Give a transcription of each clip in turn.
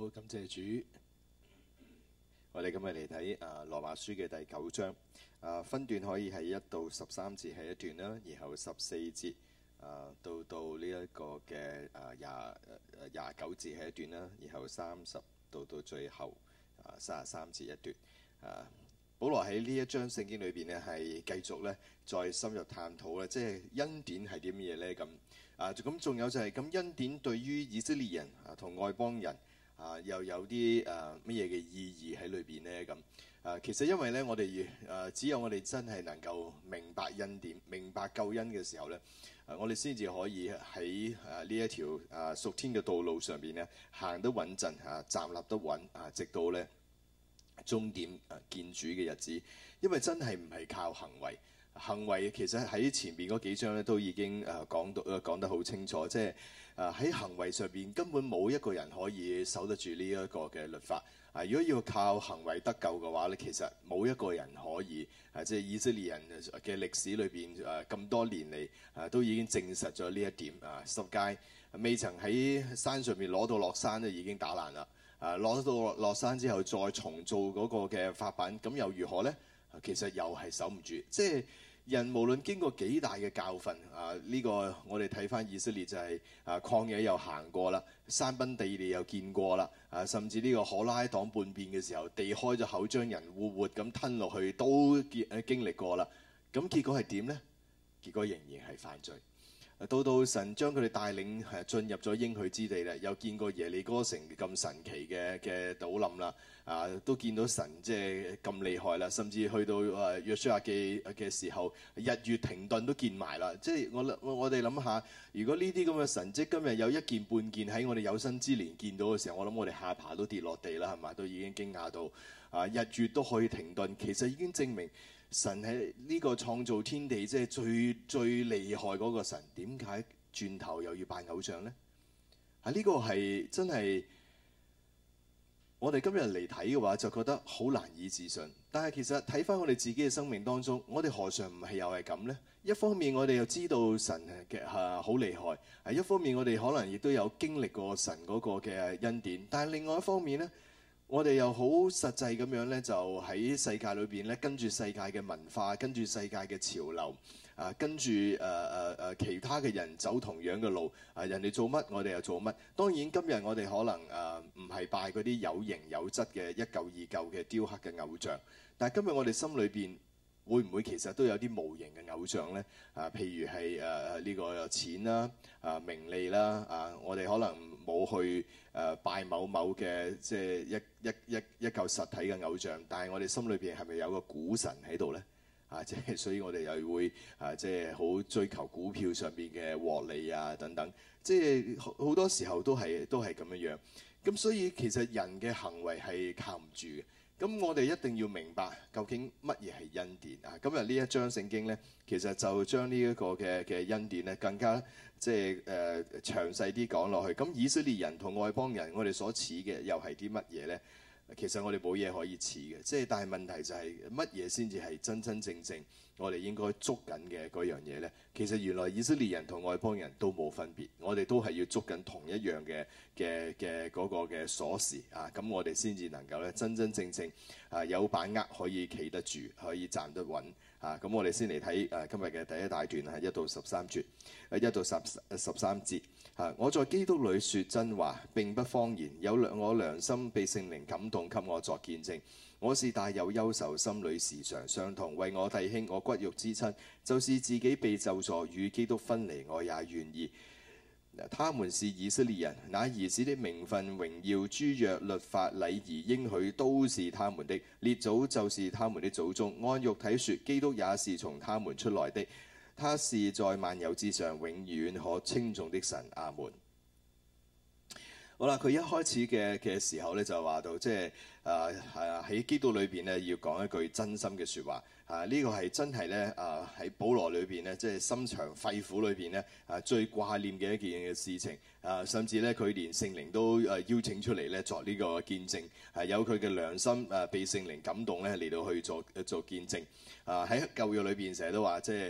好，感謝主。我哋今日嚟睇羅馬書嘅第9章。分段可以係1到13節係一段啦，然後14節到呢一個嘅29節係一段啦，然後30到最後33節一段。保羅喺呢一章聖經裏邊呢，係繼續咧再深入探討咧，即係恩典係啲乜嘢咧咁。咁仲有就係咁恩典對於以色列人同外邦人又有啲乜嘢嘅意義喺裏邊呢？咁其實因為咧，我哋只有我哋真係能夠明白恩典、明白救恩嘅時候咧，我哋先至可以喺呢一條屬天嘅道路上邊咧行得穩陣站立得穩直到咧終點見主嘅日子。因為真係唔係靠行為。行為其實喺前邊嗰幾章咧都已經講得好清楚，即係喺行為上邊根本冇一個人可以守得住呢一個嘅律法。如果要靠行為得救嘅話咧，其實冇一個人可以。即係以色列人嘅歷史裏邊咁多年嚟都已經證實咗呢一點。十誡未曾喺山上面攞到落山就已經打爛啦。攞到落山之後再重做嗰個嘅法版，咁又如何呢？其實又係守唔住。即係人無論經過幾大嘅教訓，呢個我哋睇翻以色列就係曠野又行過啦，山崩地裂又見過啦，甚至呢個可拉黨叛變嘅時候，地開咗口將人活活咁吞落去，都經歷過啦。咁結果係點呢？結果仍然係犯罪。到神將佢哋帶領進入咗應許之地咧，又見過耶利哥城咁神奇嘅倒冧啦，都見到神即係咁厲害啦，甚至去到約書亞記嘅時候，日月停頓都見埋啦。即係我哋諗下，如果呢啲咁嘅神蹟今日有一件半件喺我哋有生之年見到嘅時候，我諗我哋下巴都跌落地啦，係嘛？都已經驚訝到日月都可以停頓，其實已經證明神係呢個創造天地即係最厲害嗰個神，點解轉頭又要拜偶像呢？呢個係真係我哋今日嚟睇嘅話，就覺得好難以置信。但係其實睇翻我哋自己嘅生命當中，我哋何嘗唔係又係咁呢？一方面我哋又知道神嘅好厲害，一方面我哋可能亦都有經歷過神嗰個嘅恩典，但係另外一方面呢，我哋又好實際咁樣咧，就喺世界裏邊咧，跟住世界嘅文化，跟住世界嘅潮流，跟住其他嘅人走同樣嘅路，人哋做乜，我哋又做乜。當然今日我哋可能唔係拜嗰啲有形有質嘅一嚿二嚿嘅雕刻嘅偶像，但係今日我哋心裏邊會唔會其實都有啲無形嘅偶像呢？譬如係呢個錢啦、名利啦，我哋可能冇去拜某嘅即係一嚿實體嘅偶像，但係我哋心裏邊係咪有個股神喺度呢？即係所以我哋又會即係好追求股票上邊嘅獲利等等，即係好多時候都係咁樣樣。咁所以其實人嘅行為係靠唔住嘅。咁我哋一定要明白究竟乜嘢係恩典啊！今日呢一章聖經呢，其實就將呢一個嘅恩典呢更加即係詳細啲講落去。咁以色列人同外邦人，我哋所似嘅又係啲乜嘢呢？其實我哋冇嘢可以似嘅，即係但係問題就係乜嘢先至係真真正正我哋應該捉緊嘅嗰樣嘢呢？其實原來以色列人同外邦人都冇分別，我哋都係要捉緊同一樣嘅嗰個嘅鎖匙咁我哋先至能夠咧真真正正有把握可以企得住，可以站得穩咁我哋先嚟睇今日嘅第一大段1到13節，1到13節。我在基督裏說真話，並不謊言，我良心被聖靈感動，給我作見證。我是大有憂愁，心裏時常傷痛，為我弟兄，我骨肉之親，就是自己被咒詛與基督分離，我也願意。他們是以色列人，那兒子的名分、榮耀、諸約、律法、禮儀、應許，都是他們的。列祖就是他們的祖宗。按肉體說，基督也是從他們出來的。他是在萬有之上，永遠可稱頌的神。阿門。好啦，佢一開始嘅時候咧，就話到即係喺基督裏邊咧，要講一句真心嘅説話。呢個係真係咧喺保羅裏邊咧，即係心腸肺腑裏邊咧最掛念嘅一件嘅事情。甚至咧佢連聖靈都邀請出嚟咧作呢個見證。有佢嘅良心被聖靈感動咧嚟到去做見證。喺舊約裏邊成日都話即係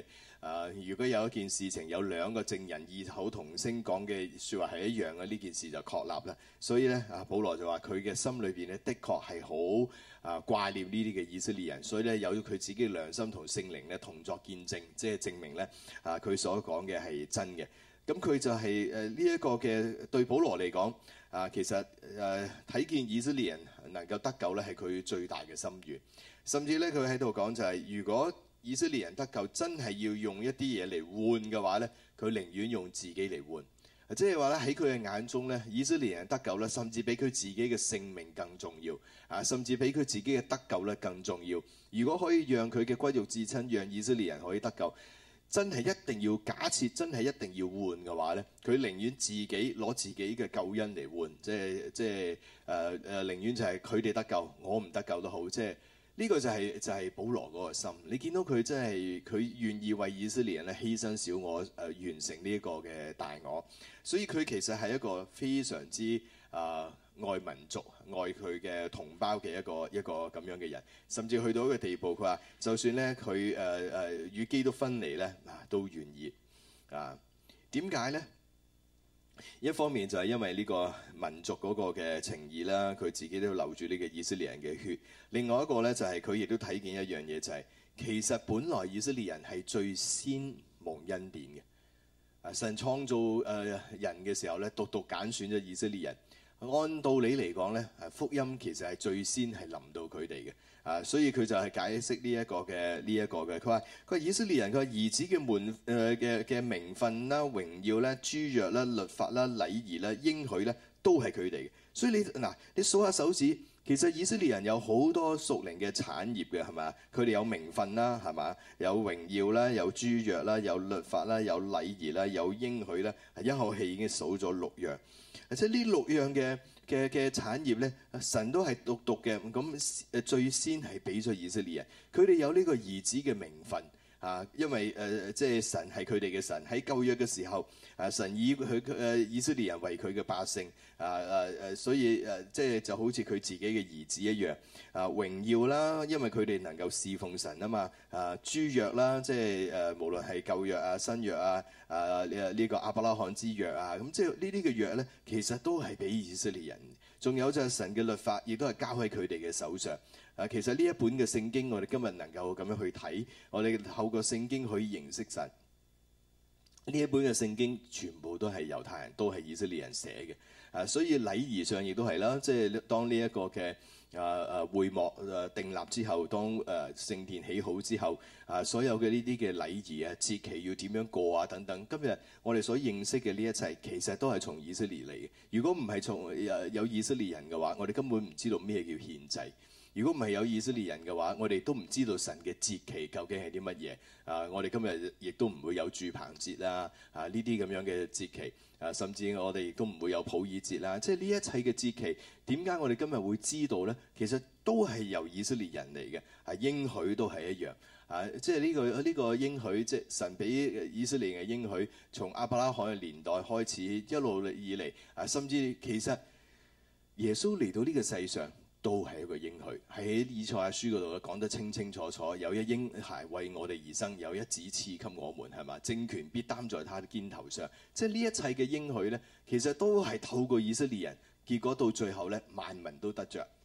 如果有一件事情有兩個證人異口同聲講嘅説話係一樣嘅，呢件事就確立啦。所以咧，保羅就話佢嘅心裏邊咧，的確係好掛念呢啲嘅以色列人，所以咧有佢自己嘅良心同聖靈咧同作見證，即係證明咧佢所講嘅係真嘅。咁佢就係呢一個嘅對保羅嚟講其實睇見以色列人能夠得救咧係佢最大嘅心願，甚至咧佢喺度講就係如果以色列人得救真係要用一啲嘢嚟換嘅話咧，佢寧願用自己嚟換。即係話咧喺佢嘅眼中咧，以色列人得救咧，甚至比佢自己嘅性命更重要甚至比佢自己嘅得救咧更重要。如果可以讓佢嘅骨肉至親，讓以色列人可以得救，真係一定要假設真係一定要換嘅話咧，佢寧願自己攞自己嘅救恩嚟換，即係寧願就係佢哋得救，我唔得救都好，即係。呢個就係保羅嗰個心，你見到佢真係佢願意為以色列人咧犧牲小我完成呢一個嘅大我，所以佢其實係一個非常之愛民族、愛佢嘅同胞嘅一個咁樣嘅人，甚至去到一個地步，佢話就算咧佢與基督分離咧都願意點解咧？一方面就係因為呢個民族嗰個嘅情義啦，佢自己都流住呢個以色列人嘅血。另外一個咧就係佢亦都睇見一樣嘢，就係其實本來以色列人係最先蒙恩典嘅。神創造人嘅時候咧，獨獨揀選咗以色列人。按道理嚟講咧，福音其實係最先係臨到佢哋嘅。所以佢就係解釋呢一個嘅。佢話以色列人佢話兒子嘅嘅名分啦、榮耀啦、諸約啦、律法啦、禮儀啦、應許咧，都係佢哋嘅。所以你數下手指，其實以色列人有好多屬靈嘅產業嘅，係咪？佢哋有名分啦，係嘛？有榮耀啦，有諸約啦，有律法啦，有禮儀啦，有應許啦，一口氣已經數咗6樣。即係呢6樣嘅產業咧，神都係獨嘅，咁最先係俾咗以色列人，佢哋有呢個兒子嘅名分因為即係神係佢哋嘅神，喺舊約嘅時候神以以色列人為佢嘅百姓所以即係就好似佢自己嘅兒子一樣榮耀啦，因為佢哋能夠侍奉神啊嘛諸約啦，即係無論係舊約新約呢個亞伯拉罕之約咁即係呢啲嘅約咧，其實都係俾以色列人。仲有就係神嘅律法，亦都係交喺佢哋嘅手上。其實呢一本嘅聖經，我哋今日能夠咁樣去睇，我哋透過聖經去認識神。呢一本嘅聖經全部都係猶太人，都係以色列人寫嘅。所以禮儀上亦都係啦，即係當呢一個嘅會幕訂立之後，當聖殿起好之後，所有嘅呢啲嘅禮儀節期要點樣過等等。今日我哋所認識嘅呢一切，其實都係從以色列嚟嘅。如果唔係從有以色列人嘅話，我哋根本唔知道咩叫獻祭。如果唔係有以色列人嘅話，我哋都唔知道神嘅節期究竟係啲乜嘢。我哋今日亦都唔會有住棚節啦，呢啲咁樣嘅節期。甚至我哋亦都唔會有普爾節啦。即係呢一切嘅節期，點解我哋今日會知道呢？其實都係由以色列人嚟嘅。應許都係一樣。即係呢個應許，即係神俾以色列嘅應許，從亞伯拉罕嘅年代開始，一路以嚟甚至其實耶穌嚟到呢個世上，都係一個應許，喺以賽亞書嗰度講得清清楚楚，有一嬰孩為我哋而生，有一子賜給我們，係嘛？政權必擔在他的肩頭上。即係呢一切嘅應許咧，其實都係透過以色列人，結果到最後咧，萬民都得着。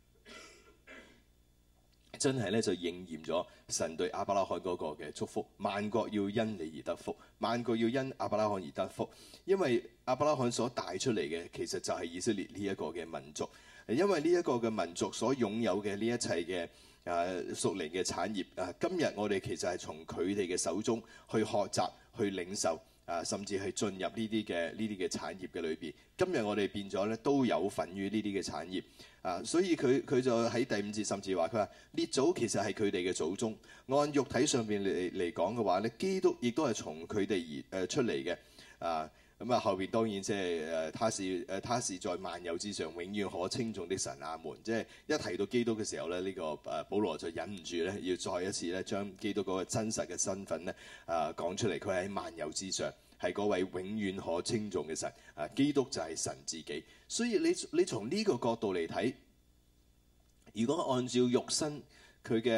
真係咧就應驗咗神對亞伯拉罕嗰個嘅祝福，萬國要因你而得福，萬國要因亞伯拉罕而得福，因為亞伯拉罕所帶出嚟嘅其實就係以色列呢一個嘅民族。因為呢一個嘅民族所擁有嘅呢一切嘅屬靈嘅產業今日我哋其實係從佢哋嘅手中去學習、去領受甚至係進入呢啲嘅產業嘅裏邊。今日我哋變咗咧都有份於呢啲嘅產業所以佢就喺第5節甚至話佢話列祖其實係佢哋嘅祖宗，按肉體上邊嚟講嘅話咧，基督亦都係從佢哋而出嚟嘅咁後邊當然即係他是在萬有之上，永遠可稱頌的神阿們。即係一提到基督嘅時候咧，呢個保羅就忍唔住咧，要再一次咧將基督嗰個真實嘅身份咧講出嚟。佢喺萬有之上，係嗰位永遠可稱頌嘅神基督就係神自己。所以你從呢個角度嚟睇，如果按照肉身佢嘅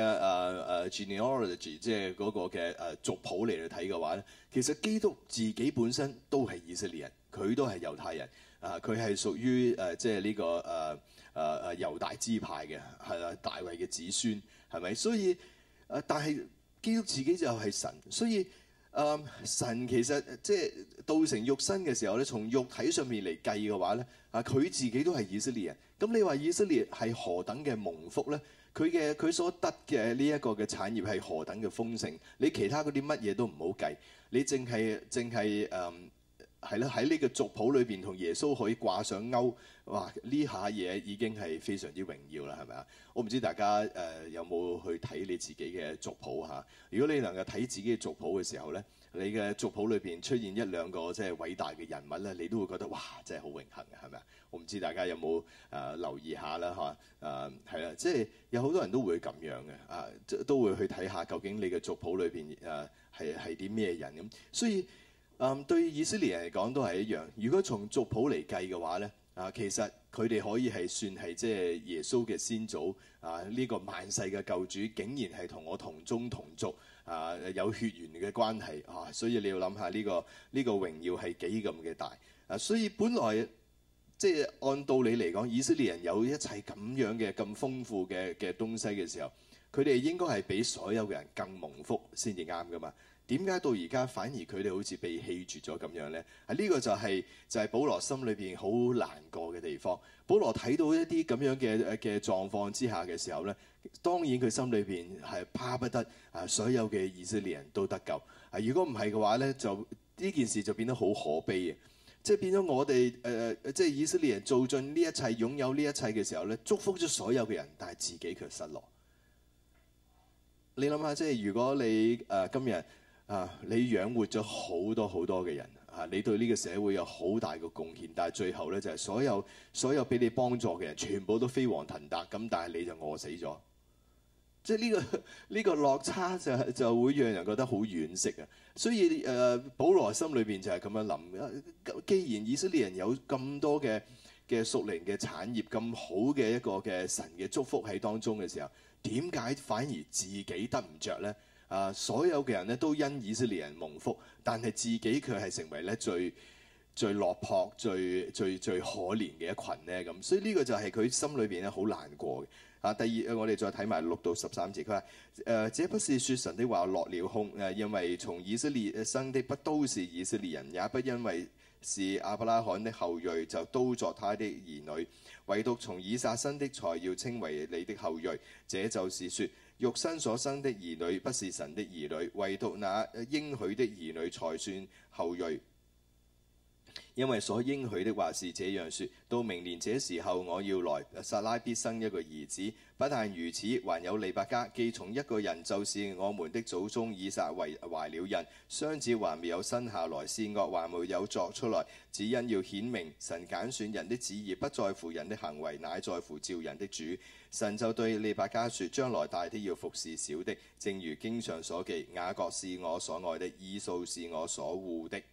genealogy，即係嗰個嘅族譜嚟睇嘅話咧，其實基督自己本身都係以色列人，佢都係猶太人佢係屬於即係呢個猶大支派嘅，係啦，大衛嘅子孫係咪？所以但係基督自己就係神，所以神其實即係道成肉身嘅時候咧，從肉體上面嚟計嘅話咧，佢自己都係以色列人。咁你話以色列係何等嘅蒙福咧？佢所得嘅呢一個嘅產業係何等嘅豐盛？你其他嗰啲乜嘢都唔好計，你淨係係啦，喺呢個族譜裏邊同耶穌可以掛上鈎，哇！呢下嘢已經係非常之榮耀啦，係咪啊？我唔知大家有冇去睇你自己嘅族譜嚇？如果你能夠睇自己嘅族譜嘅時候咧，你嘅族譜裏邊出現一兩個即係偉大嘅人物咧，你都會覺得哇，真係好榮幸嘅，係咪啊？我唔知大家有冇留意下啦嚇？係啦，即係有好多人都會咁樣嘅都會去睇下究竟你嘅族譜裏邊係啲咩人咁，所以。對以色列人嚟講都係一樣。如果從族譜嚟計嘅話咧，其實佢哋可以係算係即係耶穌嘅先祖呢個萬世嘅救主，竟然係同我同宗同族有血緣嘅關係所以你要諗下呢個榮耀係幾咁嘅大所以本來即係按道理嚟講，以色列人有一切咁樣嘅咁豐富嘅東西嘅時候，佢哋應該係比所有嘅人更蒙福先至啱噶嘛。點解到而家反而佢哋好似被棄絕咗咁樣呢？呢個就係保羅心裏邊好難過嘅地方。保羅睇到一啲咁樣嘅狀況之下嘅時候呢，當然佢心裏邊係巴不得所有嘅以色列人都得救。如果唔係嘅話呢，就呢件事就變得好可悲嘅，即係變咗我哋即係以色列人做盡呢一切，擁有呢一切嘅時候呢，祝福咗所有嘅人，但係自己卻失落。你諗下，即係如果你今日你養活咗好多好多嘅人你對呢個社會有好大嘅貢獻，但係最後咧就係所有俾你幫助嘅人全部都飛黃騰達咁，但係你就餓死咗。即係呢個落差就會讓人覺得好惋惜啊！所以保羅心裏邊就係咁樣諗，既然以色列人有咁多嘅屬靈嘅產業，咁好嘅一個嘅神嘅祝福喺當中嘅時候，點解反而自己得唔着咧？所有嘅人咧都因以色列人蒙福，但係自己卻係成為咧最落魄、最可憐嘅一群咧咁，所以呢個就係佢心裏邊咧好難過嘅。第二我哋再睇埋6到13節，佢話這不是說神的話落了空，因為從以色列生的不都是以色列人，也不因為是亞伯拉罕的後裔就都作他的兒女，唯獨從以撒生的才要稱為你的後裔。這就是說，肉身所生的兒女不是神的兒女，唯獨那應許的兒女才算後裔。因為所應許的話是這樣說：到明年這時候我要來，撒拉必生一個兒子。不但如此，還有利百加，既從一個人，就是我們的祖宗以撒懷了孕，雙子還沒有生下來，善惡還沒有作出來，只因要顯明神揀選人的旨意不在乎人的行為，乃在乎召人的主。神就對利百加說：將來大的要服侍小的，正如經上所記：雅各是我所愛的，以掃是我所惡的。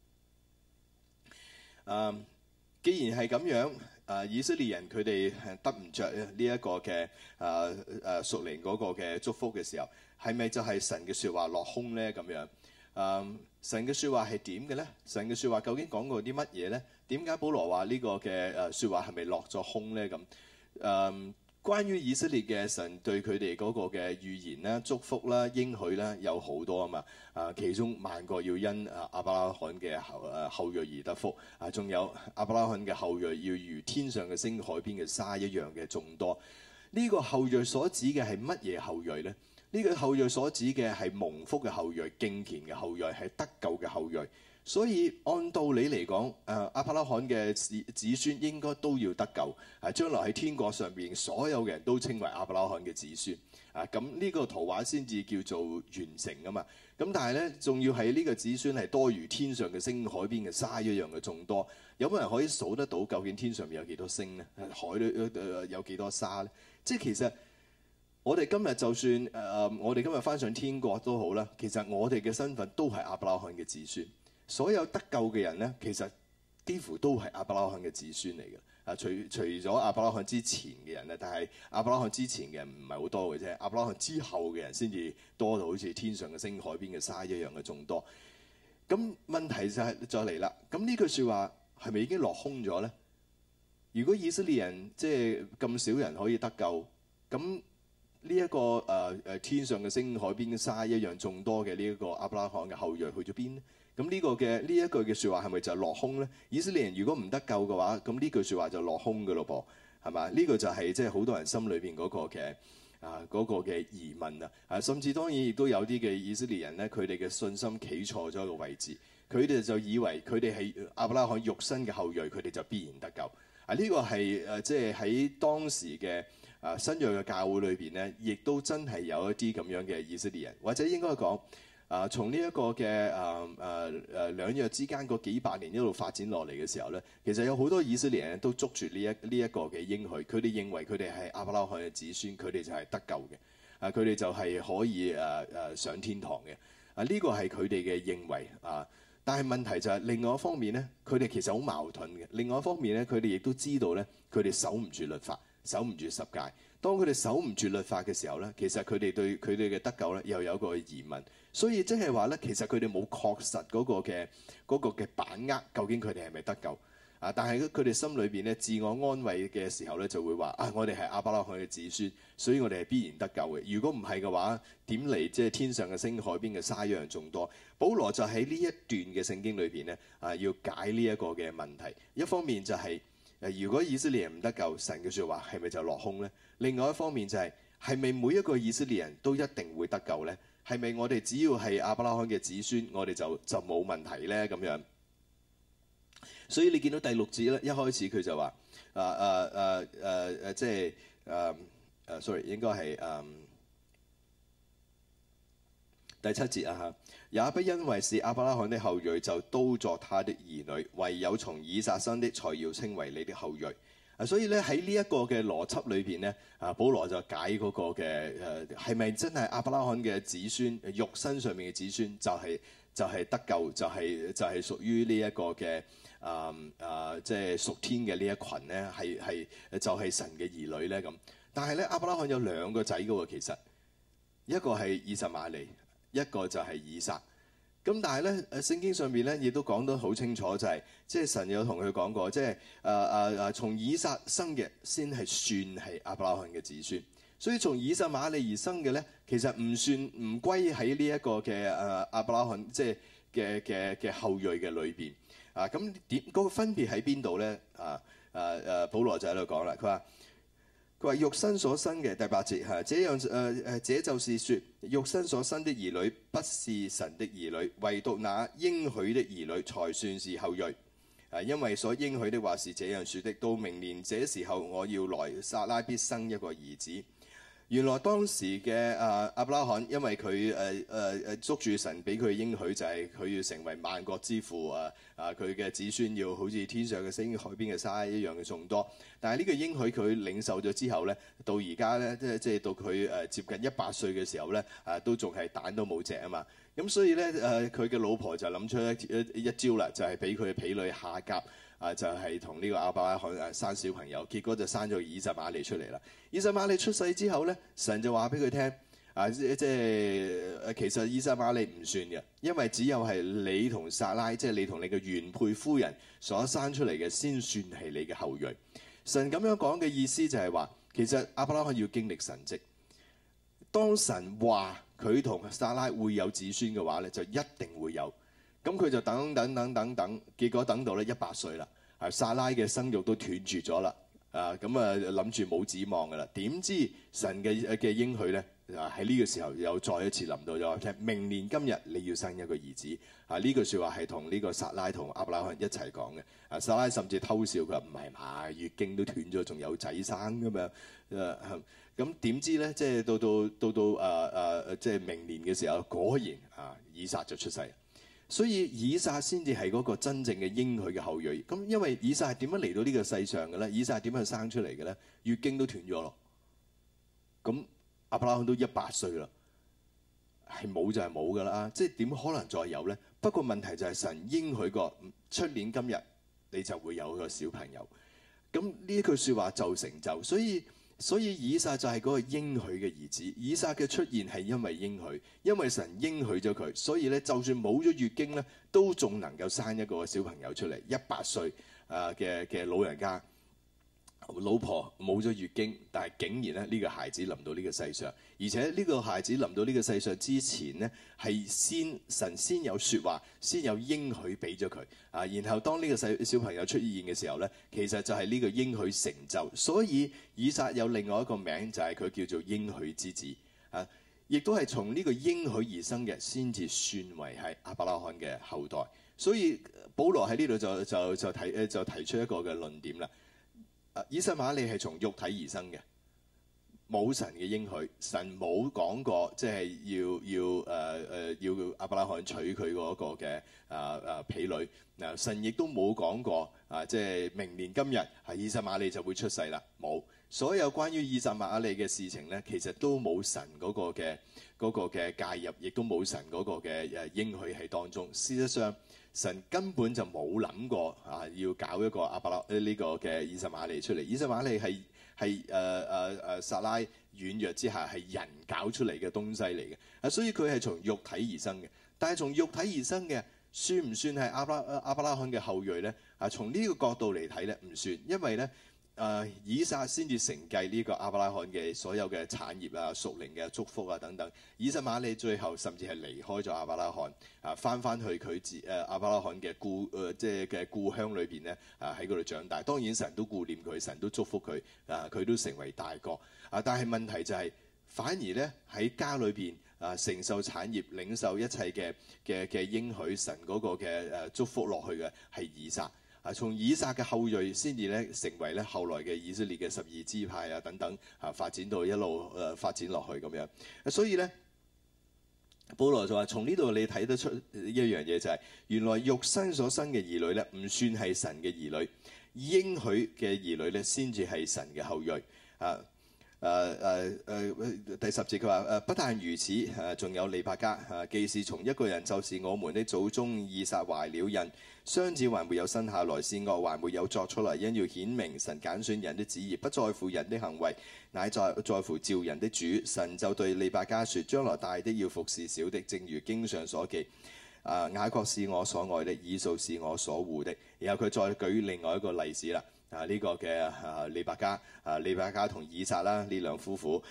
既然係咁樣，以色列人佢哋得唔着呢一個嘅屬靈嗰個嘅祝福嘅時候，係咪就係神嘅説話落空呢？咁樣神嘅説話係點嘅呢？神嘅説話究竟講過啲乜嘢呢？點解保羅話呢個嘅説話係咪落咗空呢？咁關於以色列嘅神對佢哋嗰個嘅預言啦、祝福啦、應許啦，有好多啊嘛。其中萬國要因亞伯拉罕嘅後裔而得福。仲有亞伯拉罕嘅後裔要如天上嘅星、海邊嘅沙一樣嘅眾多。呢個後裔所指嘅係乜嘢後裔呢？呢個後裔所指嘅係蒙福嘅後裔、敬虔嘅後裔，係得救嘅後裔。所以按道理嚟講，亞伯拉罕嘅子孫應該都要得救。將來喺天國上邊，所有嘅人都稱為亞伯拉罕嘅子孫。咁呢個圖畫先至叫做完成啊嘛。咁但係咧，仲要係呢個子孫係多如天上嘅星、海邊嘅沙一樣嘅眾多。有冇人可以數得到究竟天上面有幾多星咧？海裏有幾多沙咧？即係其實我哋今日就算我哋今日返上天國都好啦，其實我哋嘅身份都係亞伯拉罕嘅子孫。所有得救嘅人咧，其實幾乎都係亞伯拉罕嘅子孫嚟嘅。除咗亞伯拉罕之前嘅人咧，但係亞伯拉罕之前嘅人唔係好多嘅啫。亞伯拉罕之後嘅人先至多到好似天上嘅星、海邊嘅沙一樣嘅眾多。咁問題就嚟啦。咁呢句説話係咪已經落空咗咧？如果以色列人即係咁少人可以得救，咁呢一個天上嘅星、海邊嘅沙一樣眾多嘅呢一個亞伯拉罕嘅後裔去咗邊咧？咁呢一句嘅説話係咪就落空咧？以色列人如果唔得救嘅話，咁呢句説話就落空嘅咯噃，係嘛？呢個就係即係好多人心裏邊嗰個嘅疑問啊！甚至當然亦都有啲嘅以色列人咧，佢哋嘅信心企錯咗一個位置，佢哋就以為佢哋係亞伯拉罕肉身嘅後裔，佢哋就必然得救啊！呢個係即係喺當時嘅新約嘅教會裏邊咧，亦都真係有一啲咁樣嘅以色列人，或者應該講。從呢一個嘅兩約之間嗰幾百年一路發展落嚟嘅時候咧，其實有好多以色列人都捉住呢一個嘅應許，佢哋認為佢哋係亞伯拉罕嘅子孫，佢哋就係得救嘅，佢哋就係可以上天堂嘅。呢個係佢哋嘅認為啊。但係問題就係另外一方面咧，佢哋其實好矛盾嘅。另外一方面咧，佢哋亦都知道咧，佢哋守唔住律法，守唔住十誡。當佢哋守唔住律法嘅時候咧，其實佢哋對佢哋嘅得救咧又有一個疑問。所以即係話咧，其實佢哋冇確實嗰個嘅把握，究竟佢哋係咪得救啊？但係佢哋心裏邊咧，自我安慰嘅時候咧，就會話啊，我哋係亞伯拉罕嘅子孫，所以我哋係必然得救嘅。如果唔係嘅話，點嚟即係天上嘅星、海邊嘅沙一樣眾多？保羅就喺呢一段嘅聖經裏邊咧要解呢一個嘅問題。一方面就係如果以色列人唔得救，神嘅説話係咪就落空咧？另外一方面就係咪每一個以色列人都一定會得救咧？係咪我哋只要係亞伯拉罕嘅子孫，我哋就冇問題咧？咁樣，所以你見到第6節咧，一開始佢就話即係sorry， 應該係第7節啊嚇，也不因為是亞伯拉罕的後裔就都作他的兒女，唯有從以撒生的才要稱為你的後裔。所以咧喺呢一個嘅邏輯裏邊咧，保羅就解嗰個嘅係咪真係亞伯拉罕嘅子孫，肉身上面嘅子孫就係得救，就係屬於呢一個嘅即係屬天嘅呢一群咧，係就係神嘅兒女咧咁。但係咧亞伯拉罕有2個仔嘅喎，其實一個係以實瑪利，一個就係以撒。咁但係咧，聖經上面咧亦都講得好清楚，就係即係神有同佢講過，即係從以撒生嘅先係算係亞伯拉罕嘅子孫。所以從以實瑪利而生嘅咧，其實唔歸喺呢一個嘅亞伯拉罕即係嘅後裔嘅裏邊。咁點嗰個分別喺邊度咧？保羅就喺度講啦，佢話肉身所生嘅第8節嚇，這就是説肉身所生的兒女不是神的兒女，唯獨那應許的兒女才算是後裔。因為所應許的話是這樣説的：到明年這時候我要來，撒拉必生一個兒子。原來當時嘅亞伯拉罕，因為佢捉住神俾佢應許，就係佢要成為萬國之父佢嘅子孫要好似天上嘅星、海邊嘅沙一樣嘅眾多。但係呢個應許佢領受咗之後咧，到而家咧即係到佢接近100歲嘅時候咧，都仲係蛋都冇隻啊嘛。咁所以咧佢嘅老婆就諗出一招啦，就係俾佢嘅婢女夏甲就係同呢個亞伯拉罕生小朋友，結果就生咗以實瑪利出嚟啦。以實瑪利出世之後咧，神就話俾佢聽即係其實以實瑪利唔算嘅，因為只有係你同撒拉，即係你同你嘅原配夫人所生出嚟嘅先算係你嘅後裔。神咁樣講嘅意思就係話，其實亞伯拉罕要經歷神蹟。當神話佢同撒拉會有子孫嘅話咧，就一定會有。咁佢就等，結果等到咧100歲啦，撒拉嘅生育都斷絕咗啦。諗住冇指望㗎啦，點知神嘅應許咧喺呢個時候又再一次臨到咗，聽明年今日你要生一個兒子。呢句説話係同呢個撒拉同亞伯拉罕一齊講嘅。撒拉甚至偷笑，佢話唔係嘛，月經都斷咗，仲有仔生㗎嘛。咁點知咧，即係到即係明年嘅時候，果然以撒就出世。所以以撒先至係嗰個真正嘅應許嘅後裔。咁因為以撒係點樣嚟到呢個世上嘅咧？以撒係點樣生出嚟嘅咧？月經都斷咗咯。咁亞伯拉罕都100歲啦，係冇就係冇㗎啦。即係點可能再有咧？不過問題就係神應許過出年今日你就會有個小朋友。咁呢一句説話就成就，所以以撒就係嗰個應許嘅兒子。以撒嘅出現係因為應許，因為神應許咗佢，所以咧就算冇咗月經咧，都仲能夠生一個小朋友出嚟。100歲嘅老人家，老婆冇咗月經，但係竟然咧呢個孩子臨到呢個世上，而且呢個孩子臨到呢個世上之前呢，係神先有説話，先有應許俾咗佢啊。然後當呢個小朋友出現嘅時候呢，其實就係呢個應許成就。所以以撒有另外一個名，就係佢叫做應許之子啊，亦都係從呢個應許而生嘅，先至算為係亞伯拉罕嘅後代。所以保羅喺呢度就提出一個嘅論點啦。以實瑪利係從肉體而生嘅，冇神嘅應許，神冇講過即係要亞伯拉罕娶佢嗰個嘅婢女。嗱，神亦都冇講過即係明年今日係以實瑪利就會出世啦，冇。所有關於以實瑪利嘅事情咧，其實都冇神嗰個嘅介入，亦都冇神嗰個嘅應許喺當中。事實上，神根本就冇諗過要搞一個呢個嘅以實瑪利出嚟。以實瑪利係撒拉軟弱之下係人搞出嚟嘅東西嚟嘅，所以佢係從肉體而生嘅。但係從肉體而生嘅，算唔算係亞伯拉罕嘅後裔咧？從呢個角度嚟睇咧，唔算，因為咧以撒先至承繼呢個亞伯拉罕嘅所有嘅產業啊、屬靈嘅祝福啊等等。以實瑪利最後甚至係離開咗亞伯拉罕翻去佢亞伯拉罕嘅故鄉裏邊咧喺嗰度長大。當然神都顧念佢，神都祝福佢佢都成為大國但係問題就係反而咧喺家裏邊承受產業、領受一切嘅應許神嗰個嘅祝福落去嘅係以撒。從以撒嘅後裔先至咧成為咧後來嘅以色列嘅12支派等等發展到一路發展落去咁樣。所以咧，保羅就話：從呢度你睇得出一樣嘢，就係原來肉身所生嘅兒女咧，唔算係神嘅兒女，應許嘅兒女咧先至係神嘅後裔第10節佢話不但如此仲有利百加既是從一個人，就是我們的祖宗以撒懷了孕，雙子還沒有生下來，善惡還沒有作出來，因要顯明神揀選人的旨意不在乎人的行為，乃在乎召人的主。神就對利百加說：將來大的要服侍小的，正如經上所記雅各是我所愛的，以掃是我所惡的。然後佢再舉另外一個例子啦。呢個嘅利百加同以撒啦，呢兩夫婦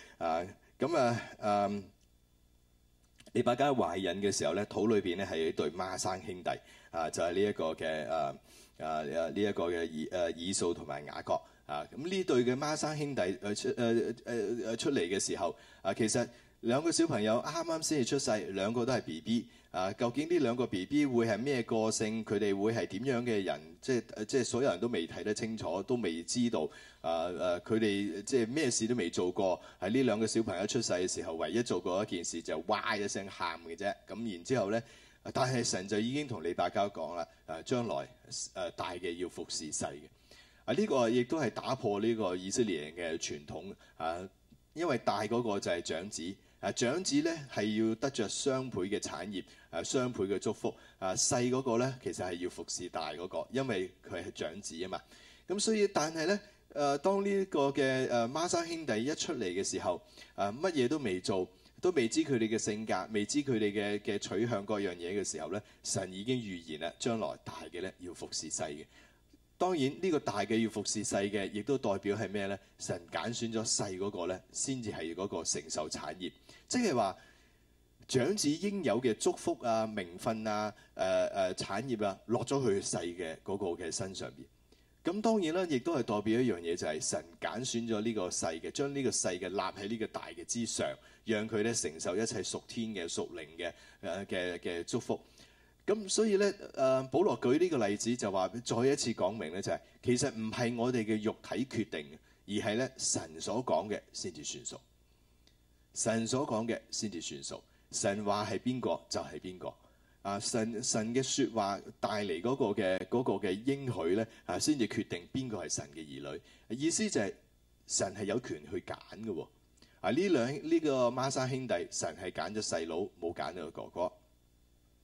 利百加懷孕嘅時候咧，肚裏邊咧係一對孖生兄弟就係呢一個嘅呢一個嘅以掃同埋雅各咁呢對嘅孖生兄弟出嚟嘅時候其實兩個小朋友啱啱先至出世，兩個都係 BB。究竟呢兩個 BB 會係咩個性？佢哋會係點樣嘅人？即係所有人都未睇得清楚，都未知道。佢哋即係咩事都未做過。喺呢兩個小朋友出世嘅時候，唯一做過一件事就哇一聲喊嘅啫。咁然之後咧，但係神就已經同利百加講啦，將來大嘅要服侍細嘅。呢個亦都係打破呢個以色列人嘅傳統因為大嗰個就係長子。長子咧係要得着雙倍嘅產業，雙倍嘅祝福。細嗰個咧其實係要服侍大嗰個，因為佢係長子啊嘛。咁所以，但係咧，當呢個嘅孖生兄弟一出嚟嘅時候，乜嘢都未做，都未知佢哋嘅性格，未知佢哋嘅取向各樣嘢嘅時候咧，神已經預言啦，將來大嘅咧要服侍細嘅。當然呢個大嘅要服侍細嘅，亦都代表係咩咧？神揀選咗細嗰個咧，先至係嗰個承受產業，即係話長子應有嘅祝福啊、名分啊、產業啊，落咗去細嘅嗰個嘅身上邊。咁當然啦，亦都係代表一樣嘢，就係神揀選咗呢個細嘅，將呢個細嘅立喺呢個大嘅之上，讓佢咧承受一切屬天嘅、屬靈嘅祝福。咁所以咧，保羅舉呢個例子就話，再一次講明咧，就係其實唔係我哋嘅肉體決定，而係咧神所講嘅先至算數。神所講嘅先至算數。神話係邊個就係邊個。神嘅説話帶嚟嗰個嘅應許咧，先至決定邊個係神嘅兒女。意思就係神係有權去揀嘅喎。呢個孖生兄弟，神係揀咗細佬，冇揀咗個哥哥。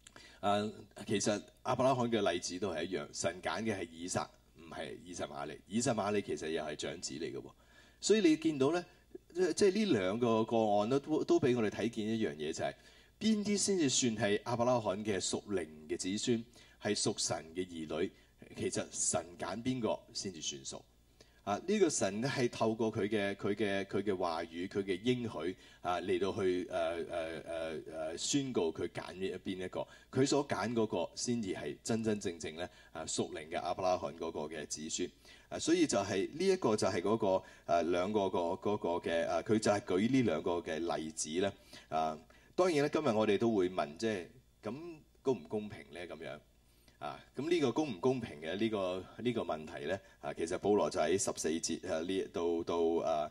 其實亞伯拉罕嘅例子都係一樣，神揀嘅係以撒，唔係以實瑪利。以實瑪利其實又係長子嚟嘅喎，所以你見到咧，即係呢兩個個案都俾我哋睇見一樣嘢，就係邊啲先至算係亞伯拉罕嘅屬靈嘅子孫，係屬神嘅兒女。其實神揀邊個先至算數。呢個神咧係透過佢嘅話語、佢嘅應許嚟到去宣告佢揀邊一個，佢所揀嗰個先至係真真正正咧屬靈嘅亞伯拉罕嗰個嘅子孫。所以就係呢一個就係嗰個兩個嗰個嘅佢就係舉呢兩個嘅例子咧。當然咧，今日我哋都會問，即係咁公唔公平咧？咁樣。咁呢個公唔公平嘅呢個問題咧，其實保羅就喺14節呢到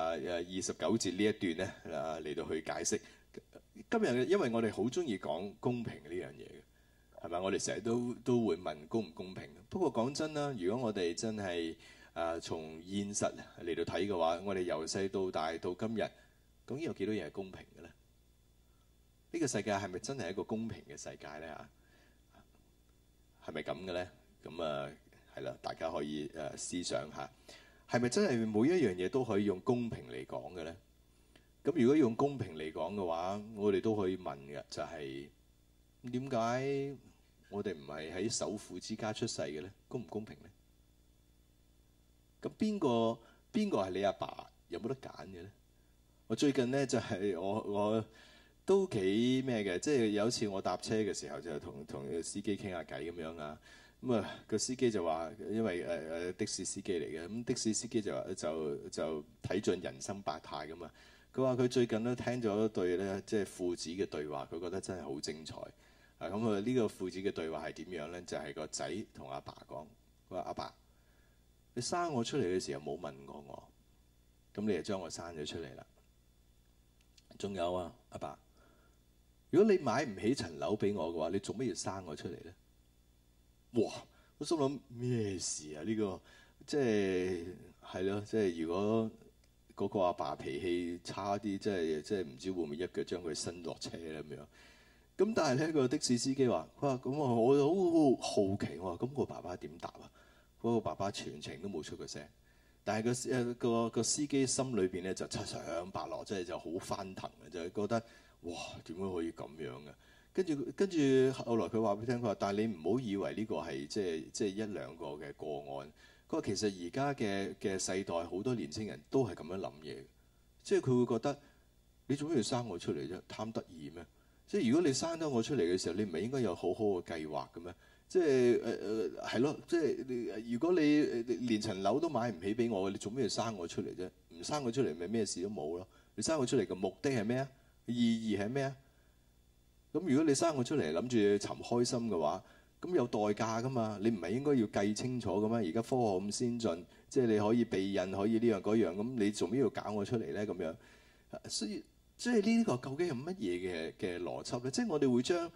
29節呢一段咧嚟到去解釋。今日因為我哋好中意講公平呢樣嘢嘅，係咪？我哋成日都會問公唔公平。不過講真啦，如果我哋真係從現實嚟到睇嘅話，我哋由細到大到今日，究竟有幾多嘢係公平嘅咧？呢個世界係咪真係一個公平嘅世界咧？係咪咁嘅咧？咁係啦，大家可以思想下，係咪真係每一樣嘢都可以用公平嚟講嘅咧？咁如果用公平嚟講嘅話，我哋都可以問嘅，就係點解我哋唔係喺首富之家出世嘅咧？公唔公平咧？咁邊個係你阿爸？有冇得揀嘅咧？我最近咧就係我都幾咩嘅，即係有一次我搭車嘅時候就同個司機傾下偈咁樣啊。咁個司機就話，因為的士司機嚟嘅，咁的士司機就話就睇盡人生百態噶嘛。佢話佢最近都聽咗一對咧，即係父子嘅對話，佢覺得真係好精彩。咁呢個父子嘅對話係點樣咧？就係個仔同阿爸講，佢話阿爸，你生我出嚟嘅時候冇問過我，咁你就將我生咗出嚟啦。仲有啊，阿爸，如果你買唔起層樓俾我嘅話，你做咩要生我出嚟咧？哇！我心諗咩事啊？呢個即係咯，即係如果嗰個阿爸脾氣差啲，即係唔知會唔會一腳將佢伸落車咧咁樣。咁但係咧個的士司機話：佢話咁我好好奇，我話咁個爸爸點答啊？嗰個爸爸全程都冇出個聲，但係個司機心裏邊咧就七上八落，即係就好翻騰嘅，就係覺得哇點解可以咁樣嘅？跟住後來佢話俾你聽，佢話但係你唔好以為呢個係即係一兩個嘅個案。佢話其實而家嘅世代好多年青人都係咁樣諗嘢，即係佢會覺得你做咩要生我出嚟啫？貪得意咩？即係如果你生咗我出嚟嘅時候，你唔係應該有好好嘅計劃嘅咩？即係係咯，即係如果你連層樓都買唔起俾我，你做咩要生我出嚟啫？唔生我出嚟咪咩事都冇咯。你生我出嚟嘅目的係咩啊？意義係咩啊？咁如果你生我出嚟諗住尋開心嘅話，咁有代價噶嘛？你唔係應該要計清楚嘅咩？而家科學咁先進，即係你可以避孕，可以呢樣嗰樣，咁你做咩要搞我出嚟咧？咁樣，所以即係呢個究竟係乜嘢嘅邏輯咧？即係我哋會將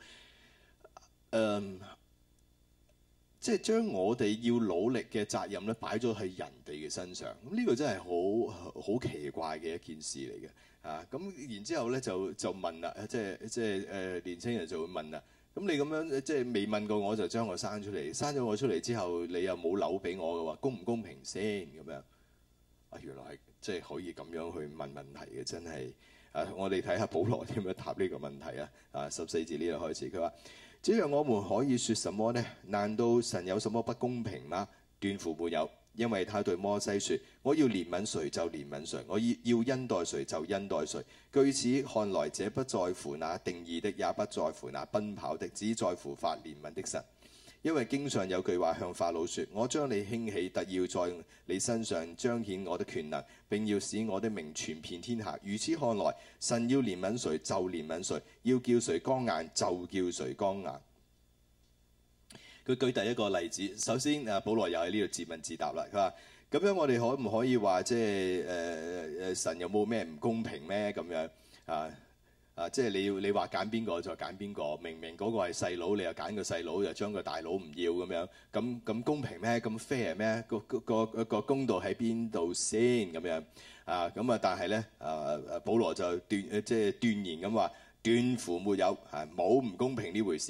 即係將我哋要努力嘅責任咧擺咗喺人哋嘅身上，咁呢個真係好奇怪嘅一件事嚟嘅。咁然之後咧就問啦，即係年青人就會問啦。咁你咁樣即係未問過我就將我生出嚟，生咗我出嚟之後你又冇樓俾我嘅話，公唔公平先咁樣？原來係即係可以咁樣去問問題嘅，真係我哋睇下保羅點樣答呢個問題啊！14節呢度開始，佢話：這樣我們可以說什麼呢？難道神有什麼不公平嗎？斷乎沒有。因為他對摩西說：我要憐憫誰就憐憫誰，我要恩待誰就恩待誰。據此看來，這不在乎那定義的，也不在乎那奔跑的，只在乎發憐憫的神。因為經上有句話向法老說：我將你興起，特要在你身上彰顯我的權能，並要使我的名傳遍天下。如此看來，神要憐憫誰就憐憫誰，要叫誰剛硬就叫誰剛硬。佢舉第一個例子，首先保羅又喺呢度自問自答啦。佢話：咁樣我哋可唔可以話即係神有冇咩唔公平咩？咁樣即係你話揀邊個就揀邊個，明明嗰個係細佬，你又揀個細佬，又將個大佬唔要咁樣，咁公平咩？咁 fair 咩？個公道喺邊度先咁樣咁但係咧保羅就斷言咁話：斷乎沒有冇唔公平呢回事嘅。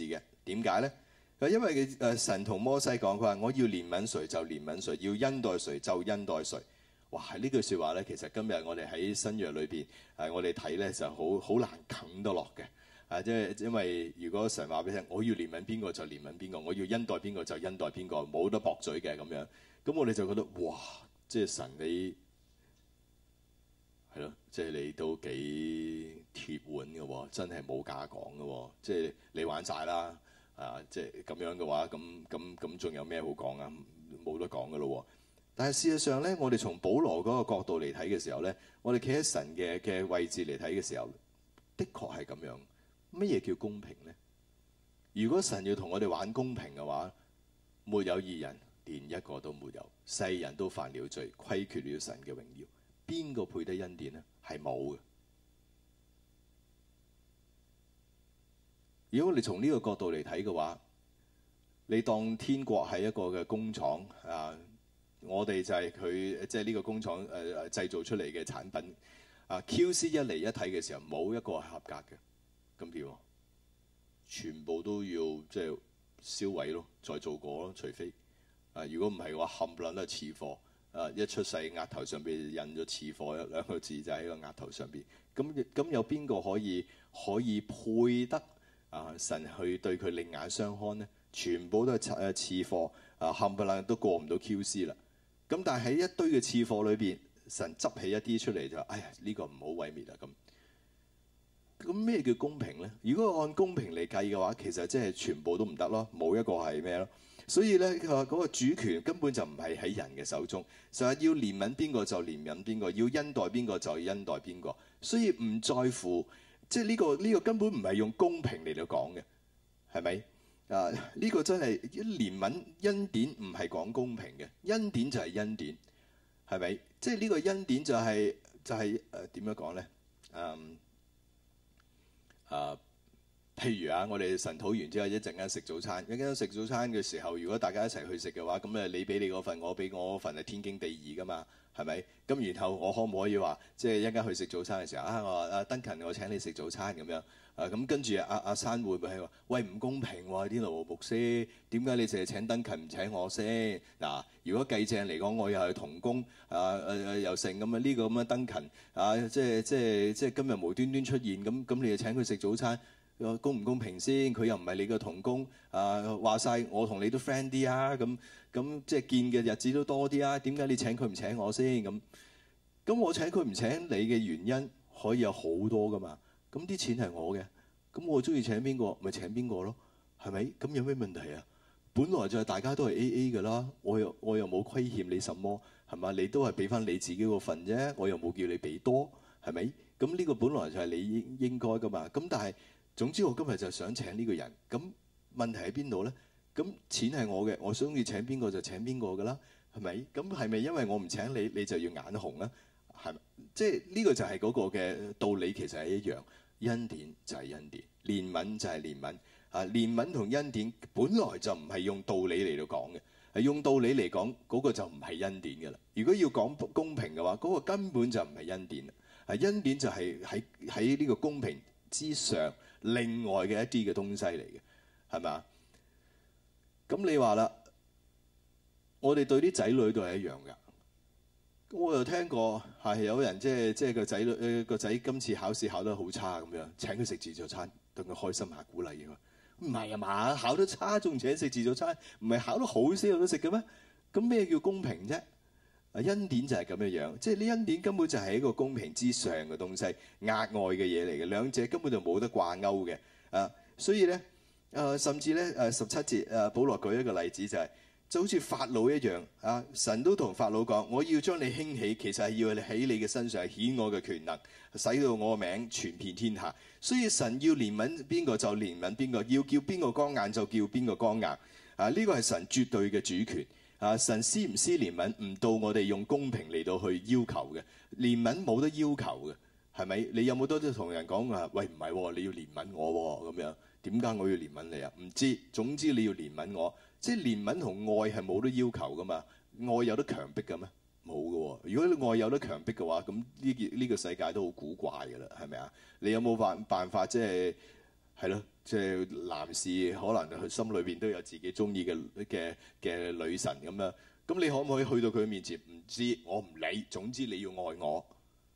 點解咧？因為神同摩西講，佢話我要憐憫誰就憐憫誰，要恩待誰就恩待誰。哇！呢句説話咧，其實今日我哋喺新約裏邊我哋睇咧就好難啃得落嘅。即係因為如果神話俾你聽，我要憐憫邊個就憐憫邊個，我要恩待邊個就恩待邊個，冇得駁嘴嘅咁樣。咁我哋就覺得哇！即係神你係咯，即係你都幾鐵腕嘅喎，真係冇假講嘅喎。即係你玩晒啦。即係咁樣嘅話，咁仲有咩好講啊？冇得講嘅咯。但係事實上咧，我哋從保羅嗰個角度嚟睇嘅時候咧，我哋企喺神嘅位置嚟睇嘅時候，的確係咁樣。乜嘢叫公平咧？如果神要同我哋玩公平嘅話，沒有義人，連一個都沒有，世人都犯了罪，虧缺了神嘅榮耀。邊個配得恩典咧？係冇嘅。如果我哋從呢個角度嚟睇嘅話，你當天國係一個嘅工廠我哋就係佢即係呢個工廠製造出嚟嘅產品QC 一嚟一睇嘅時候，冇一個係合格嘅，咁點啊？全部都要即係燒毀咯，再做過咯，除非如果唔係嘅話，冚唪唥都係次貨一出世額頭上邊印咗次貨兩個字就喺個額頭上邊，咁有邊個可以配得？神去對佢另眼相看呢，全部都係次貨，冚唪唥都過唔到 QC 啦。咁但係喺一堆嘅次貨裏邊，神執起一啲出嚟就，哎呀呢個唔好毀滅啊咁咩叫公平呢？如果按公平嚟計嘅話，其實即係全部都唔得咯，冇一個係咩咯。所以咧，佢話嗰個主權根本就唔係喺人嘅手中，就係要憐憫邊個就憐憫邊個，要恩待邊個就恩待邊個。所以唔在乎。即係呢個根本唔係用公平嚟到講嘅，係咪？呢個真係憐憫恩典唔係講公平嘅，恩典就係恩典，係咪？即係呢個恩典就係點樣講咧？譬如我哋晨禱完之後一陣間食早餐，一陣間食早餐嘅時候，如果大家一齊去食嘅話，咁你俾你嗰份，我俾我嗰份係天經地義噶嘛。係咪？咁然後我可唔可以話，即係一陣間去食早餐嘅時候我話登勤，我請你食早餐咁樣咁跟住阿珊會唔會係話，喂唔公平喎？啲羅牧師點解你淨係請登勤唔請我先？嗱，如果計正嚟講，我又係同工又成咁呢個咁嘅登勤即係今日無端端出現咁你就請佢食早餐，公唔公平先？佢又唔係你嘅同工話晒我同你都 friend 啲咁即係見嘅日子都多啲點解你請佢唔請我先？咁我請佢唔請你嘅原因可以有好多噶嘛？咁啲錢係我嘅，咁我中意請邊個咪請邊個咯？係咪？咁有咩問題啊？本來就係大家都係 AA 㗎啦，我又冇虧欠你什麼，係嘛？你都係俾翻你自己個份啫，我又冇叫你俾多，係咪？咁呢個本來就係你應該㗎嘛。咁但係總之我今日就想請呢個人，咁問題喺邊度咧？咁錢係我嘅，我中意請邊個就請邊個㗎啦，係咪？咁係咪因為我唔請你，你就要眼紅啊？係咪？即係呢個就係嗰個嘅道理，其實係一樣。恩典就係恩典，憐憫就係憐憫。憐憫同恩典本來就唔係用道理嚟到講嘅，係用道理嚟講嗰個就唔係恩典㗎啦。如果要講公平嘅話，嗰個根本就唔係恩典。恩典就係喺呢個公平之上，另外嘅一啲嘅東西嚟嘅，係咪啊？咁你話啦，我哋對啲仔女都係一樣㗎。我又聽過係有人即係個仔今次考試考得好差咁樣，請佢食自助餐，等佢開心下鼓勵佢。唔係啊嘛，考得差仲請食自助餐，唔係考得好先有得食嘅咩？咁咩叫公平啫？恩典就係咁樣樣，即係呢恩典根本就係一個公平之上嘅東西，額外嘅嘢嚟嘅，兩者根本就冇得掛鈎嘅。所以咧甚至咧17節保羅舉一個例子就好似法老一樣神都同法老講，我要將你興起，其實係要喺你嘅身上顯我嘅權能，使到我嘅名傳遍天下。所以神要憐憫邊個就憐憫邊個，要叫邊個剛硬就叫邊個剛硬。呢個係神絕對嘅主權。神施唔施憐憫唔到我哋用公平嚟到去要求嘅，憐憫冇得要求嘅，係咪？你有冇多啲同人講話？喂，唔係你要憐憫我咁樣，點解我要憐憫你啊？唔知，總之你要憐憫我。即係憐憫同愛係冇得要求噶嘛？愛有得強迫嘅咩？冇嘅喎。如果愛有得強迫嘅話，咁呢個世界都好古怪嘅啦，係咪啊？你有冇辦法即係係咯，即係男士可能佢心裏邊都有自己中意嘅女神咁樣。咁你可唔可以去到佢面前？唔知，我唔理，總之你要愛我，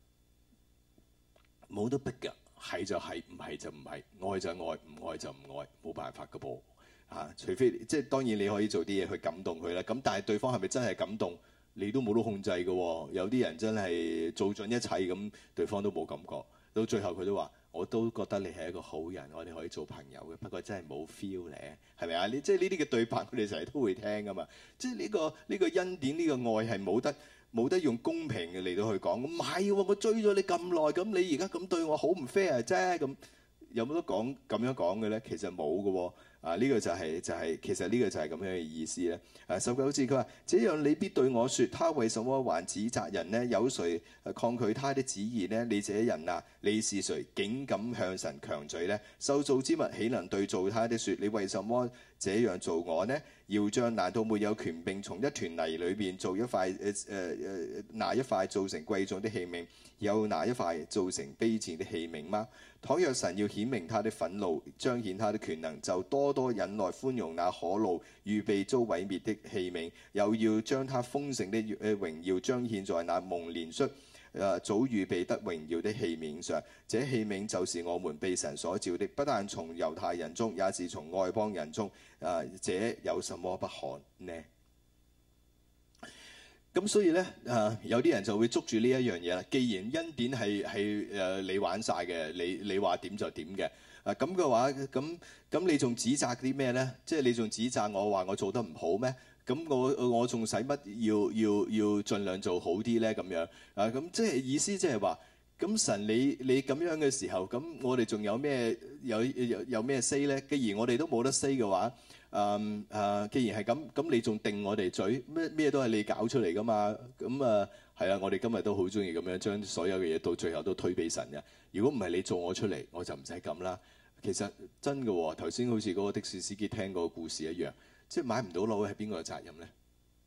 冇得逼㗎，係就係，唔係就唔係，愛就愛，唔愛就唔愛，冇辦法㗎噃嚇。除非即係當然你可以做啲嘢去感動佢啦。咁但係對方係咪真係感動，你都冇得控制㗎喎。有啲人真係做盡一切咁，對方都冇感覺，到最後佢都話：我都覺得你係一個好人，我哋可以做朋友嘅，不過真係冇 feel 咧，係咪啊？你即係呢啲嘅對白，佢哋成日都會聽㗎嘛。即係呢個恩典，呢個愛係冇得用公平嘅嚟到去講。唔係喎，我追咗你咁耐，咁你而家咁對我好唔 fair 啫。咁有冇得講咁樣講嘅咧？其實冇嘅喎。呢個就係其實呢個就係咁樣嘅意思咧。19節佢話：這樣你必對我説，他為什麼還指責人呢？有誰抗拒他的旨意呢？你這人啊，你是誰，竟敢向神強嘴呢？受造之物豈能對造他的説：你為什麼這樣做我呢？窯匠難道沒有權柄從一團泥裏邊做一塊拿一塊做成貴重的器皿，又拿一塊做成卑賤的器皿嗎？倘若神要顯明他的憤怒，彰顯他的權能，就多多忍耐寬容那可怒預備遭毀滅的器皿，又要將他豐盛的榮耀彰顯在那蒙憐恤早預備得榮耀的器皿上。這器皿就是我們被神所造的，不但從猶太人中，也是從外邦人中。這有什麼不可呢？咁所以咧，有啲人就會捉住呢一樣嘢啦。既然恩典係你玩晒嘅，你話點就點嘅。咁嘅話，咁你仲指責啲咩咧？即係你仲指責我話我做得唔好咩？咁我仲使乜要盡量做好啲咧？咁樣咁即係意思即係話，咁神你咁樣嘅時候，咁我哋仲有咩有咩 say 咧？既然我哋都冇得 say 嘅話。既然係咁你仲定我哋嘴咩都係你搞出嚟噶嘛？咁係啊！我哋今日都好中意咁樣將所有嘅嘢到最後都推俾神嘅。如果唔係你做我出嚟，我就唔使咁啦。其實真嘅喎，頭先好似嗰個的士司機聽嗰個故事一樣，即係買唔到樓係邊個嘅責任咧？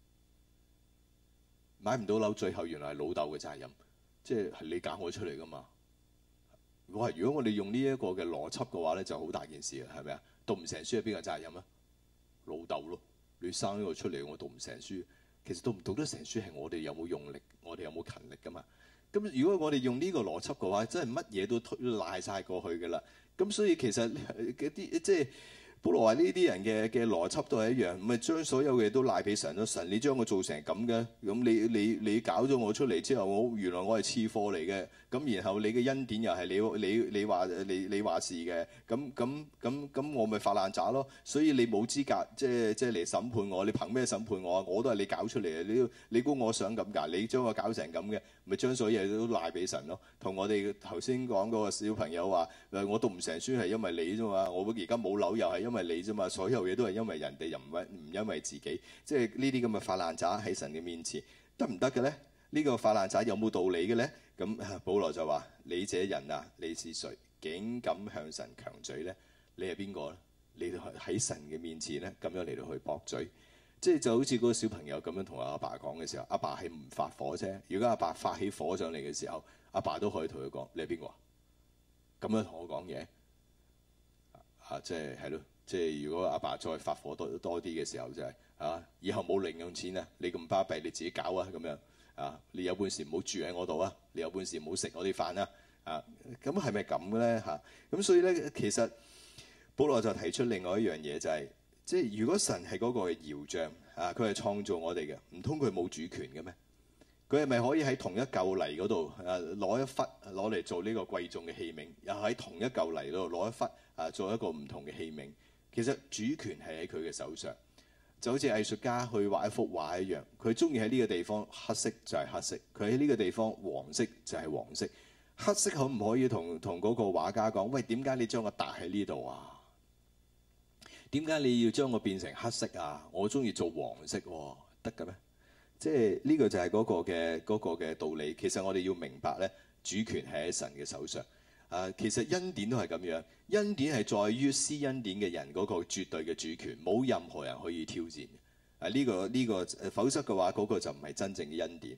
買唔到樓最後原來係老豆嘅責任，即係你搞我出嚟噶嘛？如果我哋用呢一個嘅邏輯嘅話咧，就好大件事啊，係咪啊？讀唔成書係邊個責任啊？老豆咯，你生呢個出嚟，我讀唔成書。其實讀唔讀得成書係我哋有冇用力，我哋有冇勤力噶嘛？咁如果我哋用呢個邏輯嘅話，真係乜嘢都賴晒過去噶啦。咁所以其實嗰啲即係保羅話呢啲人嘅邏輯都係一樣，唔係將所有嘅嘢都賴俾神咯。神你將我做成咁嘅，咁你搞咗我出嚟之後，原來我係次貨嚟嘅。咁然後你嘅恩典又係你話事嘅，咁我咪發爛渣咯。所以你冇資格即係嚟審判我，你憑咩審判我啊？我都係你搞出嚟嘅，你估我想咁㗎？你將我搞成咁嘅，咪將所有嘢都賴俾神咯。同我哋頭先講嗰個小朋友話：我讀唔成書係因為你啫嘛，我而家冇樓又係因為你啫嘛，所有嘢都係因為人哋，又唔因為自己。即係呢啲咁嘅發爛渣喺神嘅面前得唔得嘅咧？呢個發爛渣有冇道理嘅咧？咁保羅就話：你這人啊，你是誰，竟敢向神強嘴咧？你係邊個咧？你喺神嘅面前咧，咁樣嚟到去駁嘴，即係就好似嗰個小朋友咁樣同阿爸講嘅時候，阿爸係唔發火啫。如果阿爸發起火上嚟嘅時候，阿爸都可以同佢講：你係邊個啊？咁樣同我講嘢即係咯。即係如果阿爸再發火多啲嘅時候，就係以後冇零用錢啊！你咁巴閉，你自己搞啊咁樣。你有本事唔好住喺我度啊！你有本事唔好食我啲飯啊！咁係咪咁嘅咧？咁所以咧，其實保羅就提出另外一樣嘢，就係即係如果神係嗰個窯匠佢係創造我哋嘅，唔通佢冇主權嘅咩？佢係咪可以喺同一嚿泥嗰度攞一忽攞嚟做呢個貴重嘅器皿，又喺同一嚿泥嗰度攞一忽做一個唔同嘅器皿？其實主權係喺佢嘅手上。就好似藝術家去畫一幅畫一樣，佢中意喺呢個地方黑色就係黑色，佢喺呢個地方黃色就係黃色。黑色可唔可以同嗰個畫家講：喂，點解你將我搭喺呢度啊？點解你要將我變成黑色啊？我中意做黃色喎，得嘅咩？即係呢個就係嗰個嘅道理。其實我哋要明白咧，主權係喺神嘅手上。其實恩典都係咁樣，恩典係在於施恩典嘅人嗰個絕對嘅主權，冇任何人可以挑戰。呢個否則嘅話，嗰個就唔係真正嘅恩典。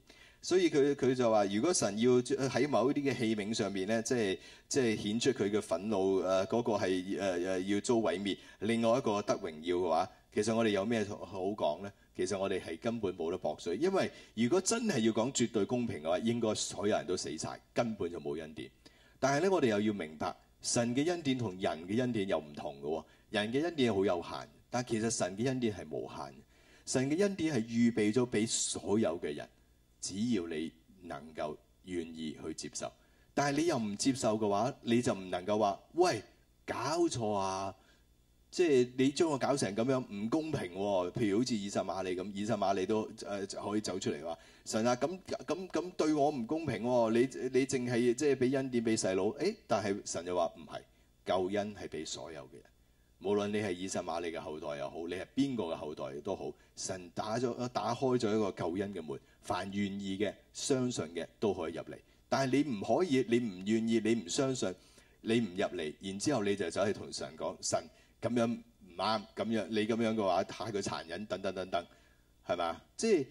所以佢就話，如果神要喺某一啲嘅器皿上面咧，即係顯出佢嘅憤怒，嗰個係要遭毀滅，另外一個得榮耀嘅話，其實我哋有咩好講咧？其實我哋係根本冇得駁水，因為如果真係要講絕對公平嘅話，應該所有人都死晒，根本就冇恩典。但係咧，我哋又要明白，神嘅恩典同人嘅恩典又唔同嘅喎。人嘅恩典係好有限，但其實神嘅恩典係無限。神嘅恩典係預備咗俾所有嘅人，只要你能夠願意去接受。但係你又唔接受嘅話，你就唔能夠話：喂，搞錯啊！即係你將我搞成咁樣唔公平喎。譬如好似以實瑪利咁，以實瑪利都可以走出嚟話：神啊，咁對我唔公平喎。你淨係即係俾恩典俾細佬，但係神就話唔係，救恩係俾所有嘅人。無論你係以實瑪利嘅後代又好，你係邊個嘅後代都好，神打開咗一個救恩嘅門，凡願意嘅、相信嘅都可以入嚟。但係你唔可以，你唔願意，你唔相信，你唔入嚟，然之後你就走去同神講：神，咁樣唔啱，咁樣你咁樣嘅話太過殘忍，等等等等，係嘛？即係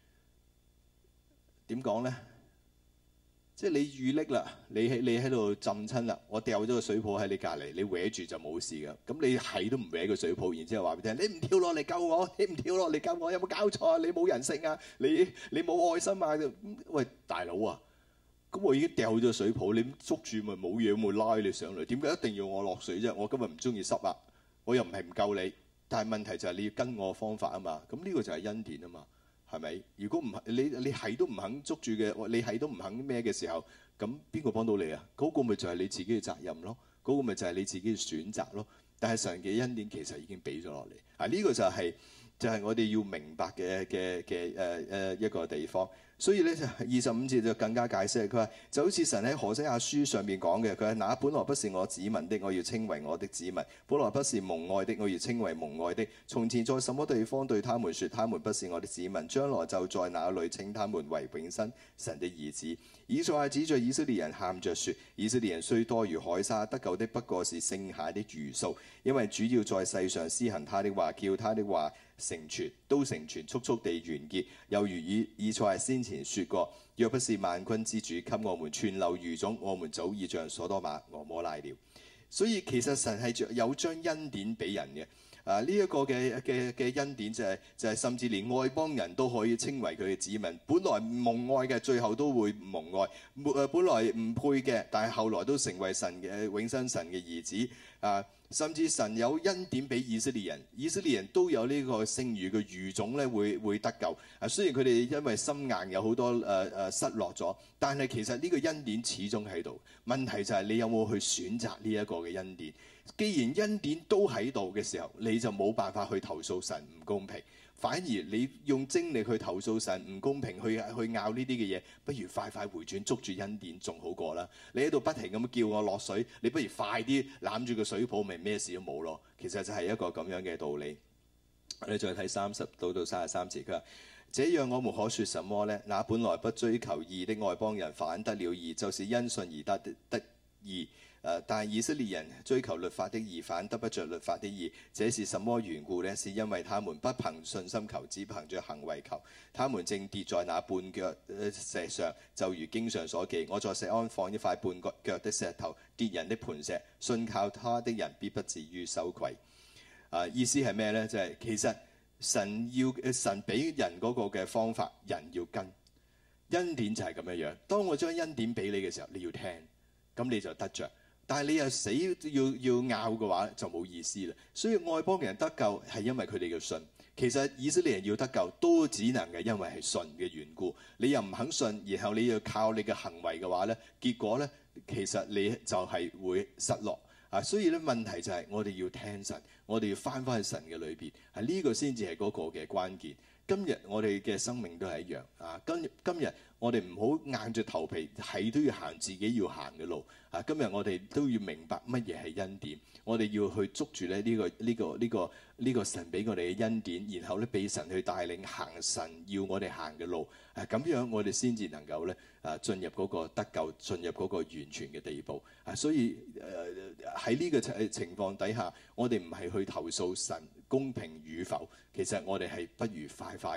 點講咧？即係你遇溺啦，你喺度浸親啦，我掉咗個水泡喺你隔離，你搲住就冇事㗎。咁你係都唔搲個水泡，然之後話俾你聽：你唔跳落嚟救我，你唔跳落嚟救我，有冇搞錯啊？你冇人性啊，你冇愛心啊！喂，大佬啊，咁我已經掉咗水泡，你捉住咪冇嘢，咪拉你上嚟。點解一定要我落水啫？我今日唔中意濕啊，我又唔係唔救你，但係問題就係你要跟我方法啊嘛。咁呢個就係恩典啊嘛。係咪？如果唔係你係都唔肯捉住嘅，你係都唔肯咩嘅時候，咁邊個幫到你啊？嗰個咪就係你自己嘅責任咯，嗰個咪就係你自己嘅選擇咯。但係神嘅恩典其實已經俾咗落嚟啊！呢個就係我哋要明白嘅一個地方。所以咧就25節就更加解釋，佢話就好似神喺何西阿書上面講嘅，佢話那本來不是我子民的，我要稱為我的子民；本來不是蒙愛的，我要稱為蒙愛的。從前在什麼地方對他們說，他們不是我的子民，將來就在那裏稱他們為永生神的兒子。以賽亞指着以色列人喊着說：以色列人雖多如海沙，得救的不過是剩下的餘數，因為主要在世上施行他的話，叫他的話成全，都成全，速速地完結。又如以賽亞先前說過：若不是萬軍之主給我們存留餘種，我們早已像所多瑪、蛾摩拉了。所以其實神係有將恩典俾人嘅。呢一個嘅恩典就係甚至連外邦人都可以稱為佢嘅子民。本來蒙愛嘅，最後都會蒙愛；本來唔配嘅，但係後來都成為神嘅永生神嘅兒子。甚至神有恩典俾以色列人，以色列人都有呢個剩餘嘅餘種咧，會得救。雖然佢哋因為心硬有好多失落咗，但係其實呢個恩典始終喺度。問題就係你有冇去選擇呢一個嘅恩典？既然恩典都喺度嘅時候，你就冇辦法去投訴神唔公平。反而你用精力去投訴神唔公平，去拗呢啲嘅嘢，不如快快回轉捉住恩典仲好過啦。你喺度不停咁叫我落水，你不如快啲攬住個水泡，咪咩事都冇咯。其實就係一個咁樣嘅道理。我哋再睇30到33節，佢話：這樣我們可說什麼呢？那本來不追求義的外邦人反得了義，就是因信而得義。但以色列人追求律法的義，反得不着律法的義。這是什麼緣故呢？是因為他們不憑信心求，只憑着行為求。他們正跌在那絆腳石上，就如經上所記：我在錫安放一塊絆腳的石頭，跌人的磐石，信靠他的人必不至於羞愧。意思係咩呢？就係其實神俾人嗰個嘅方法，人要跟。恩典就係咁樣樣。當我將恩典俾你嘅時候，你要聽，咁你就得着。但係你又死要拗嘅話，就冇意思啦。所以外邦人得救係因為佢哋嘅信。其實以色列人要得救都只能係因為係信嘅緣故。你又唔肯信，然後你要靠你嘅行為嘅話咧，結果咧其實你就係會失落。所以咧問題就係我哋要聽神，我哋要翻返去神嘅裏邊。呢個先至係嗰個嘅關鍵。今日我哋嘅生命都係一樣。今日我哋唔好硬住頭皮，係都要行自己要行嘅路。今日我哋都要明白乜嘢係恩典，我哋要去捉住咧呢個神俾我哋嘅恩典，然後咧俾神去帶領行神要我哋行嘅路。咁樣我哋先至能夠咧進入嗰個得救，進入嗰個完全嘅地步。所以喺呢個情況底下，我哋唔係去投訴神公平與否，其實我哋係不如快快嘅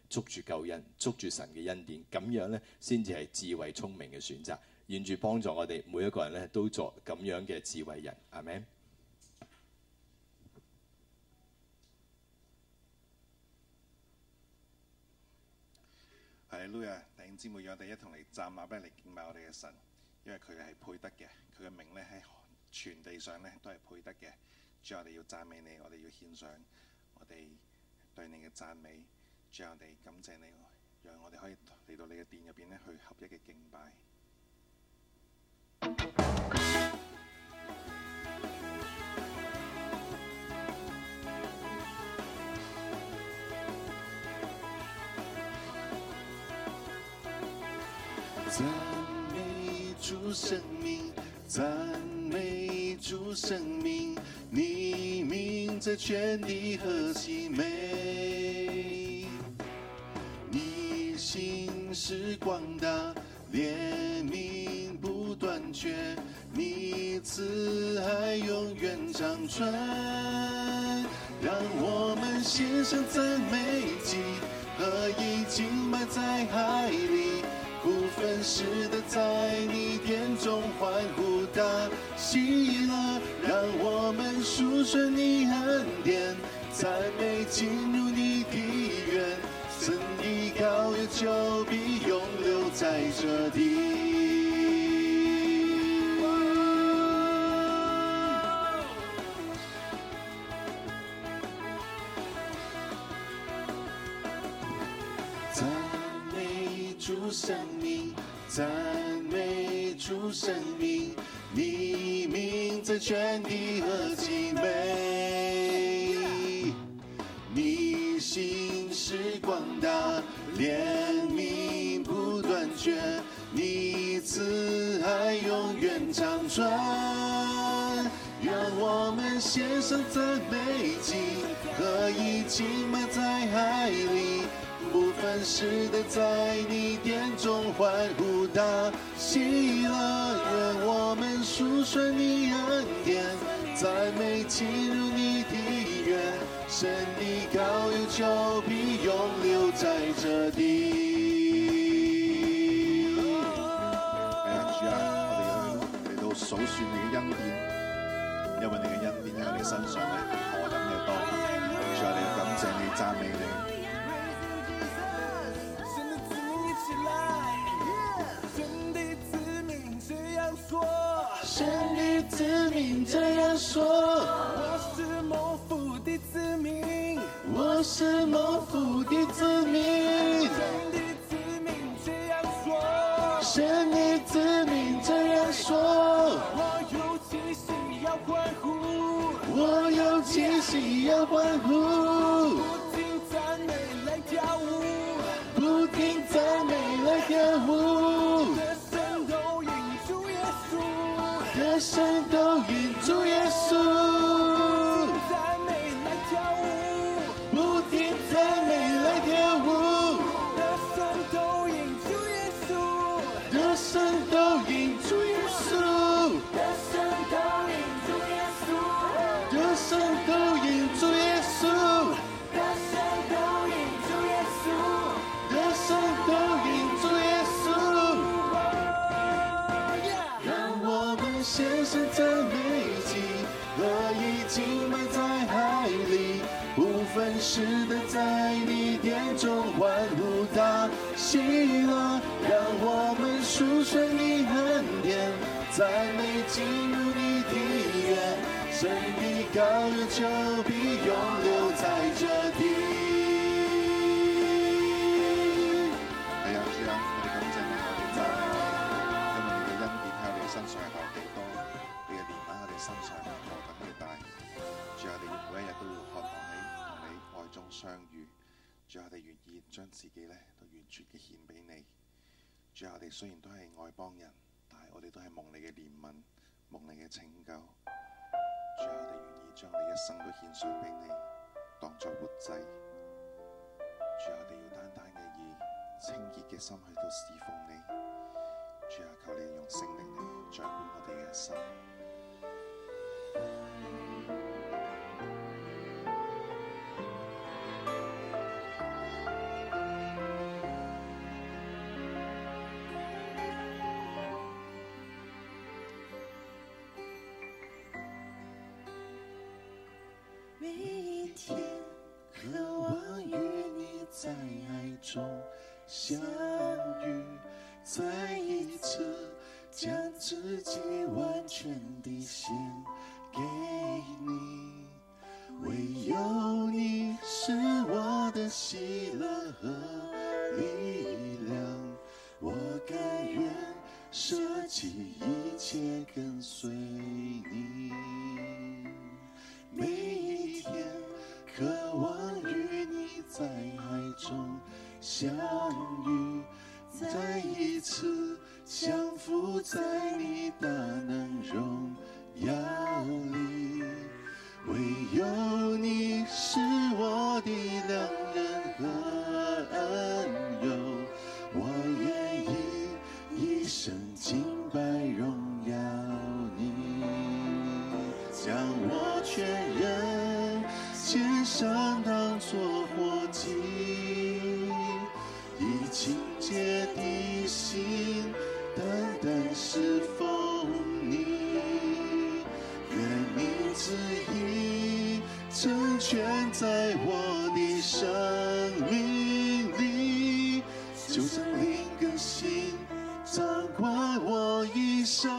捉住救恩，捉住神嘅恩典，咁樣呢，先至係智慧聰明嘅選擇。願主幫助我哋每一個人呢，都作咁樣嘅智慧人。阿們。 哈利路亞，弟兄姊妹，讓我哋一同嚟站立嚟敬拜我哋嘅神，因為佢係配得嘅，佢嘅名咧喺全地上咧都係配得嘅。主，我哋要讚美你，我哋要獻上我哋對你嘅讚美。主，我哋感謝你，讓我哋可以嚟到你嘅殿入邊咧去合一嘅敬拜。讚美主生命，讚美主生命，你名在全地何其美！你心是廣大，憐憫不斷絕，你慈愛永遠長存。讓我們獻上讚美祭，合一敬拜在海裡。不分時的在你殿中歡呼大喜樂，讓我們述說你恩典，讚美進入你的院，神的膏油就必永留在這地。讚美主生命，讚美主生命，你名在全地何其美！你心是廣大，憐憫不斷絕，你慈愛永遠長存。讓我們獻上讚美祭，合一敬拜在海裡。不分時的在你殿中歡呼大喜樂，願我們述說你恩典，讚美進入你的院，神的膏油就必永留在這地。係啊，主啊，我哋嚟到數算你嘅恩典，因為你嘅恩典喺你身上咧何等嘅多。主啊，你感謝你，讚美你。神的子民這樣說，我是蒙福的子民，我是蒙福的子民。神的子民這樣說，我有氣息要歡呼，我有氣息要歡呼，不停讚美來跳舞，不停讚美來跳舞。神都因主耶穌，讚美來跳舞，不停讚美來跳舞。的神都因主耶穌，的神都因主耶穌，的神都因主耶穌，的神都因主耶穌，的神都因主耶穌，的神都因主耶穌。獻上讚美祭，合一敬拜在海裡，不分時的在你殿中歡呼大喜樂，讓我們述說你恩典，讚美進入你的院，神的膏油就必永留在這地。係啊，主啊，我哋感謝你，我哋讚美你，因為你嘅恩典喺我哋身上係何其多，你嘅憐憫喺我哋身上係何等嘅大。主啊，我哋每一日都要渴望喺同你愛中相遇。主啊，我哋願意將自己咧都完全嘅獻俾你。主啊，我哋雖然都係外邦人，但係我哋都係蒙你嘅憐憫，蒙你嘅拯救。主啊，我哋願意將我哋一生都獻上俾你，當作活祭。主啊，我哋要單單嘅以清潔嘅心去到侍奉你。主啊，求你用聖靈嚟掌管我哋嘅心。 中相遇，再一次将自己完全地献给你。唯有你是我的喜乐和力量，我甘愿舍弃一切跟随你。每一天渴望与你在爱中相遇，再一次降服在你大能荣耀里。唯有你是我的良人和恩友，我愿意一生敬拜荣耀你。将我全人献上当作活祭，以清洁的心单单侍奉你。愿你旨意成全在我的生命里，就像灵更新掌管我一生。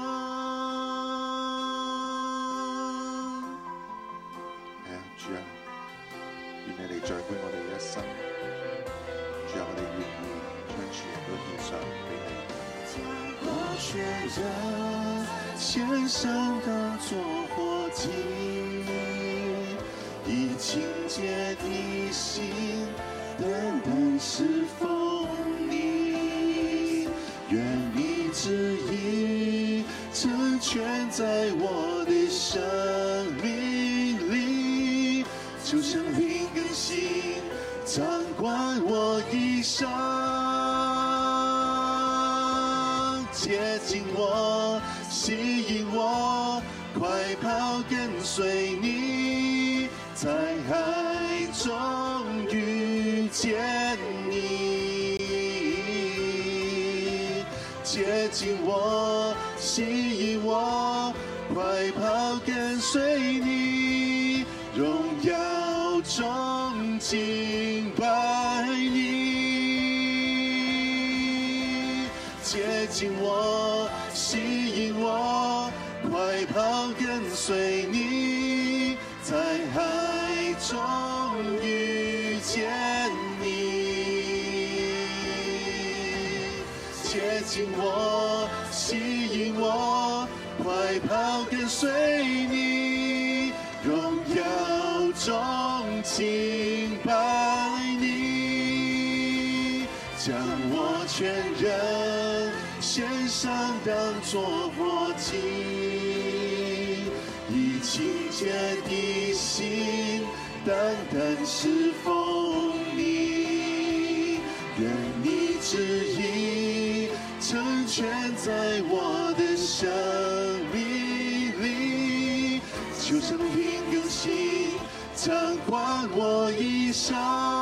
主啊，願你嚟掌管我哋一生。主啊，我哋願意將全人都獻上俾你。將我全人獻上當作活祭，以清潔的心單單侍奉你。願你旨意成全在我的生命里，就像靈更新掌管我一生。接近我，吸引我，快跑跟隨你，在愛中遇見你。接近我，吸引我，快跑跟隨你，榮耀中敬拜你。接近我，吸引我，快跑跟隨你，在愛中遇見你。接近我，吸引我，快跑跟隨你，榮耀中敬拜你。將我全人獻上當作活祭，以清潔的心單單侍奉你。願你旨意成全在我的生命里，就像靈更新掌管我一生。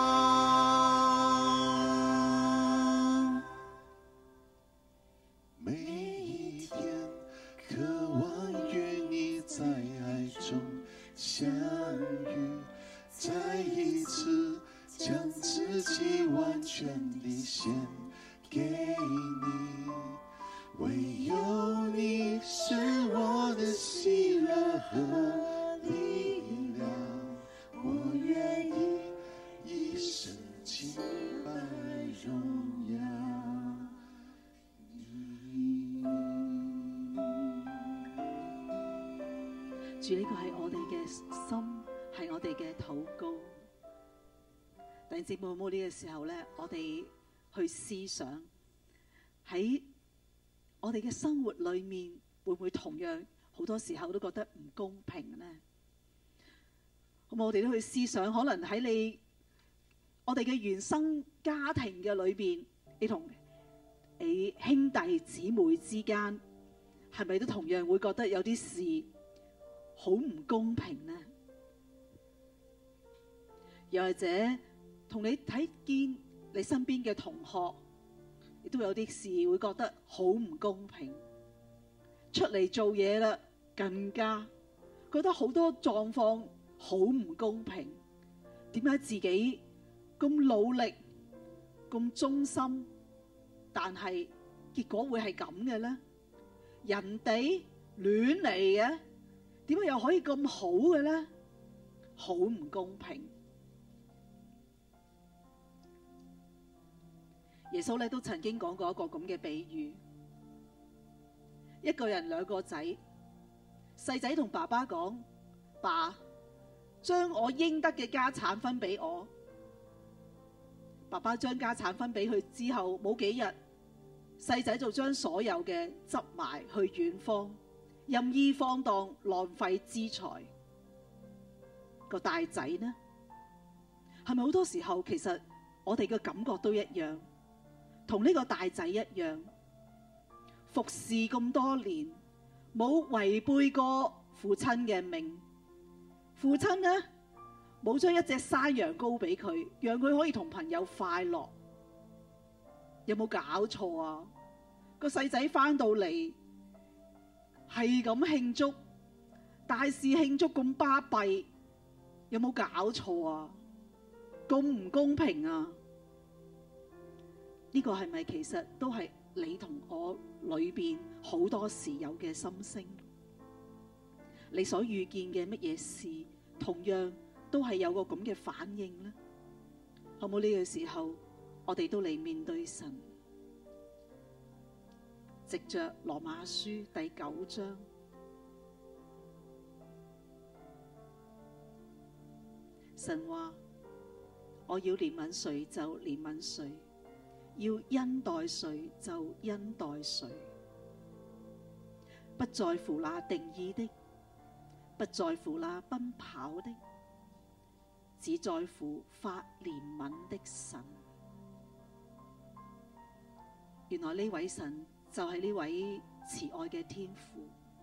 每一天渴望與你在愛中相遇，再一次將自己完全地獻給你。唯有你是我的喜樂和力量，我願意一生敬拜榮耀你。 主，呢個係我哋嘅心，係我哋嘅禱告。弟兄姊妹，冇呢個時候咧，我哋去思想喺我哋嘅生活裏面，會唔會同樣好多時候都覺得唔公平呢？好冇？我哋都去思想，可能喺我哋嘅原生家庭嘅裏邊，你同你兄弟姊妹之間，係咪都同樣會覺得有啲事好唔公平呢？又或者同你睇見你身邊嘅同學，亦都有啲事會覺得好唔公平。出嚟做嘢啦，更加覺得好多狀況好唔公平。點解自己咁努力， 咁忠心，但係結果會係咁嘅呢？人哋亂嚟嘅，點解又可以咁好嘅呢？好唔公平。耶穌咧都曾經講過一個咁嘅比喻，一個人兩個仔，細仔同爸爸講：爸，將我應得嘅家產分俾我。爸爸將家產分俾佢之後，冇幾日，細仔就將所有嘅執埋去遠方，任意放蕩，浪費資財。個大仔呢，係咪好多時候其實我哋嘅感覺都一樣，同呢個大仔一樣，服侍咁多年，冇違背過父親嘅命。父親呢，冇將一隻山羊羔俾佢，讓佢可以同朋友快樂。有冇搞錯啊？個細仔翻到嚟係咁慶祝，大肆慶祝咁巴閉，有冇搞錯啊？咁唔公平啊？呢個係咪其實都係你同我裏邊好多時有嘅心聲？你所遇見嘅乜嘢事，同樣都係有個咁嘅反應呢？好冇？呢個時候，我哋都嚟面對神，藉着羅馬書第9章，神話我要憐憫誰就憐憫誰，要恩待誰就恩待誰，不在乎那定義的，不在乎那奔跑的，只在乎發憐憫的神。原來呢位神就係呢位慈愛嘅天父，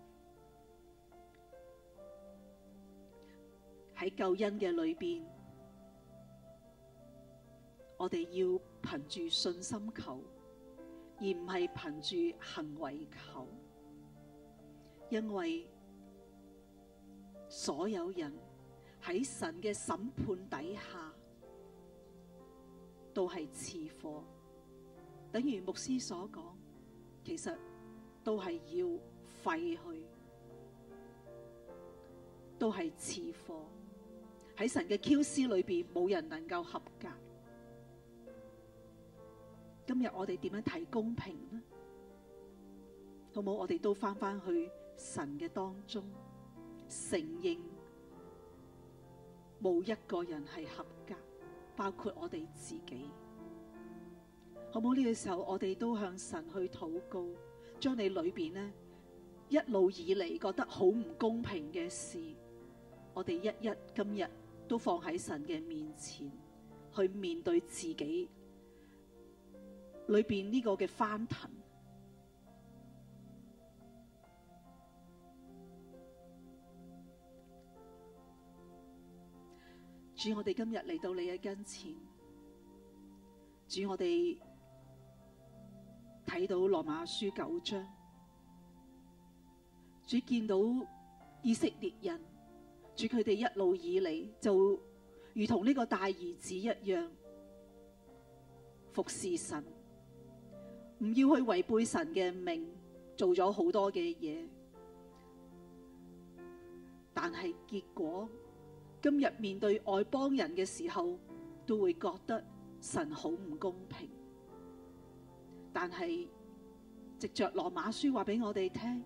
喺救恩嘅裏邊，我哋要憑住信心求，而唔係憑住行為求，因為所有人喺神嘅審判底下都係次貨，等於牧師所講，其實都係要廢去，都係次貨。喺神嘅 QC 裏邊，冇人能夠合格。今日我哋點樣睇公平呢？好冇？我哋都翻返去神嘅當中，承認冇一個人係合格，包括我哋自己。好冇？呢個時候，我哋都向神去禱告，將你裏邊呢一路以嚟覺得好唔公平嘅事，我哋一一今日都放喺神嘅面前，去面對自己裏邊呢個嘅翻騰。主，我哋今日嚟到你嘅跟前，主，我哋睇到羅馬書9章，主見到以色列人，主佢哋一路以嚟就如同呢個大兒子一樣服侍神，唔要去違背神嘅命，做咗好多嘅嘢，但係結果今日面對外邦人嘅時候，都會覺得神好唔公平。但係藉着羅馬書話俾我哋聽，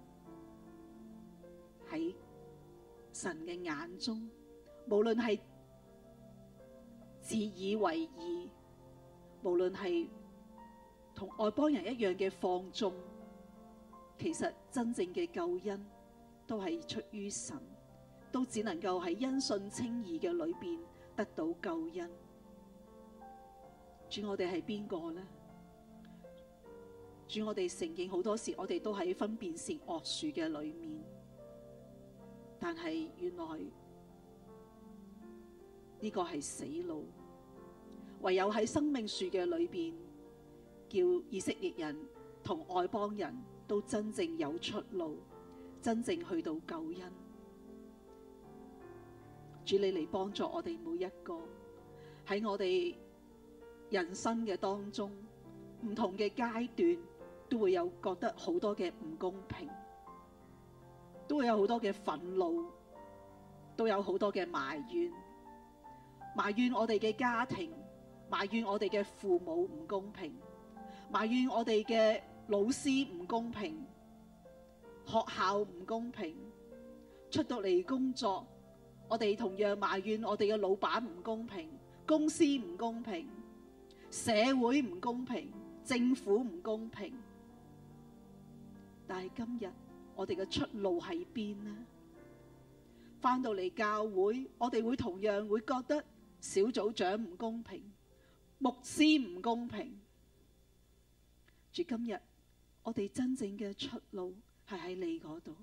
喺神嘅眼中，無論係自以為義，無論係同外邦人一樣嘅放縱，其實真正嘅救恩都係出於神，都只能夠喺因信稱義嘅裏邊得到救恩。主，我哋係邊個呢？主，我哋承認好多時我哋都喺分辨善惡樹嘅裏面，但係原來呢個係死路，唯有喺生命樹嘅裏邊，叫以色列人同外邦人都真正有出路，真正去到救恩。主，你嚟幫助我哋每一個，喺我哋人生嘅當中，唔同嘅階段都會有覺得好多嘅唔公平，都會有好多嘅憤怒，都有好多嘅埋怨，埋怨我哋嘅家庭，埋怨我哋嘅父母唔公平，埋怨我哋嘅老師唔公平，學校唔公平，出到嚟工作，我哋同樣埋怨我哋嘅老闆唔公平，公司唔公平，社會唔公平，政府唔公平。但係今日我哋嘅出路喺邊呢？返到嚟教會，我哋會同樣會覺得小組長唔公平，牧師唔公平。主，今日我哋真正嘅出路係喺你嗰度。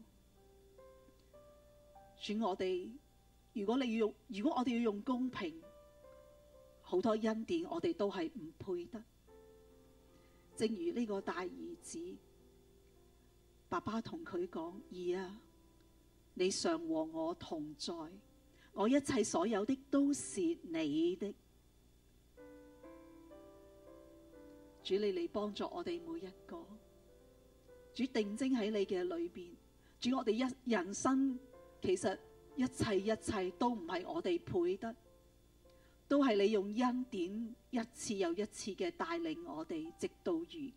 主，如果我哋要用公平，好多恩典我哋都係唔配得。正如呢個大兒子，爸爸同佢講：兒啊，你常和我同在，我一切所有的都是你的。主，你嚟幫助我哋每一個。主，定睛喺你嘅裏邊。主，我哋人生其實一切都唔係我哋配得，都係你用恩典一次又一次嘅帶領我哋，直到如今。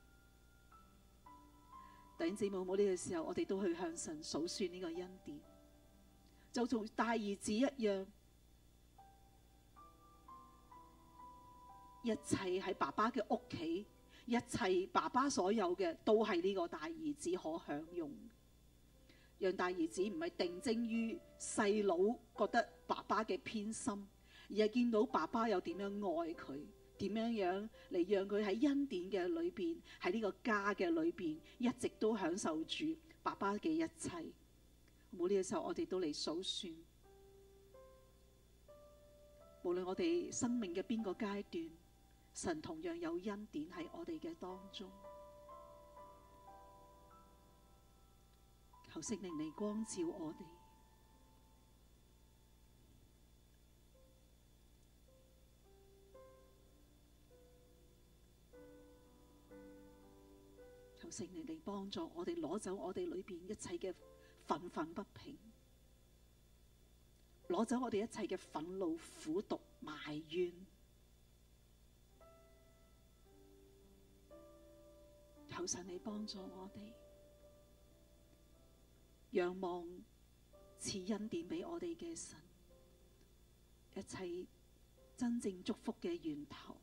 弟兄姊妹，冇呢個時候，我哋都去向神數算呢個恩典，就同大兒子一樣，一切喺爸爸嘅屋企，一切爸爸所有嘅都係呢個大兒子可享用。讓大兒子唔係定睛於細佬覺得爸爸嘅偏心，而係見到爸爸有點樣愛佢，點樣嚟讓佢喺恩典嘅裏邊，喺呢個家嘅裏邊，一直都享受住爸爸嘅一切。冇呢個時候，我哋都嚟數算，無論我哋生命嘅邊個階段，神同樣有恩典喺我哋嘅當中。求聖靈嚟光照我哋。求聖靈嚟幫助我哋，攞走我哋裏邊一切嘅憤憤不平，攞走我哋一切嘅憤怒、苦毒、埋怨。求神嚟幫助我哋，仰望賜恩典俾我哋嘅神，一切真正祝福嘅源頭。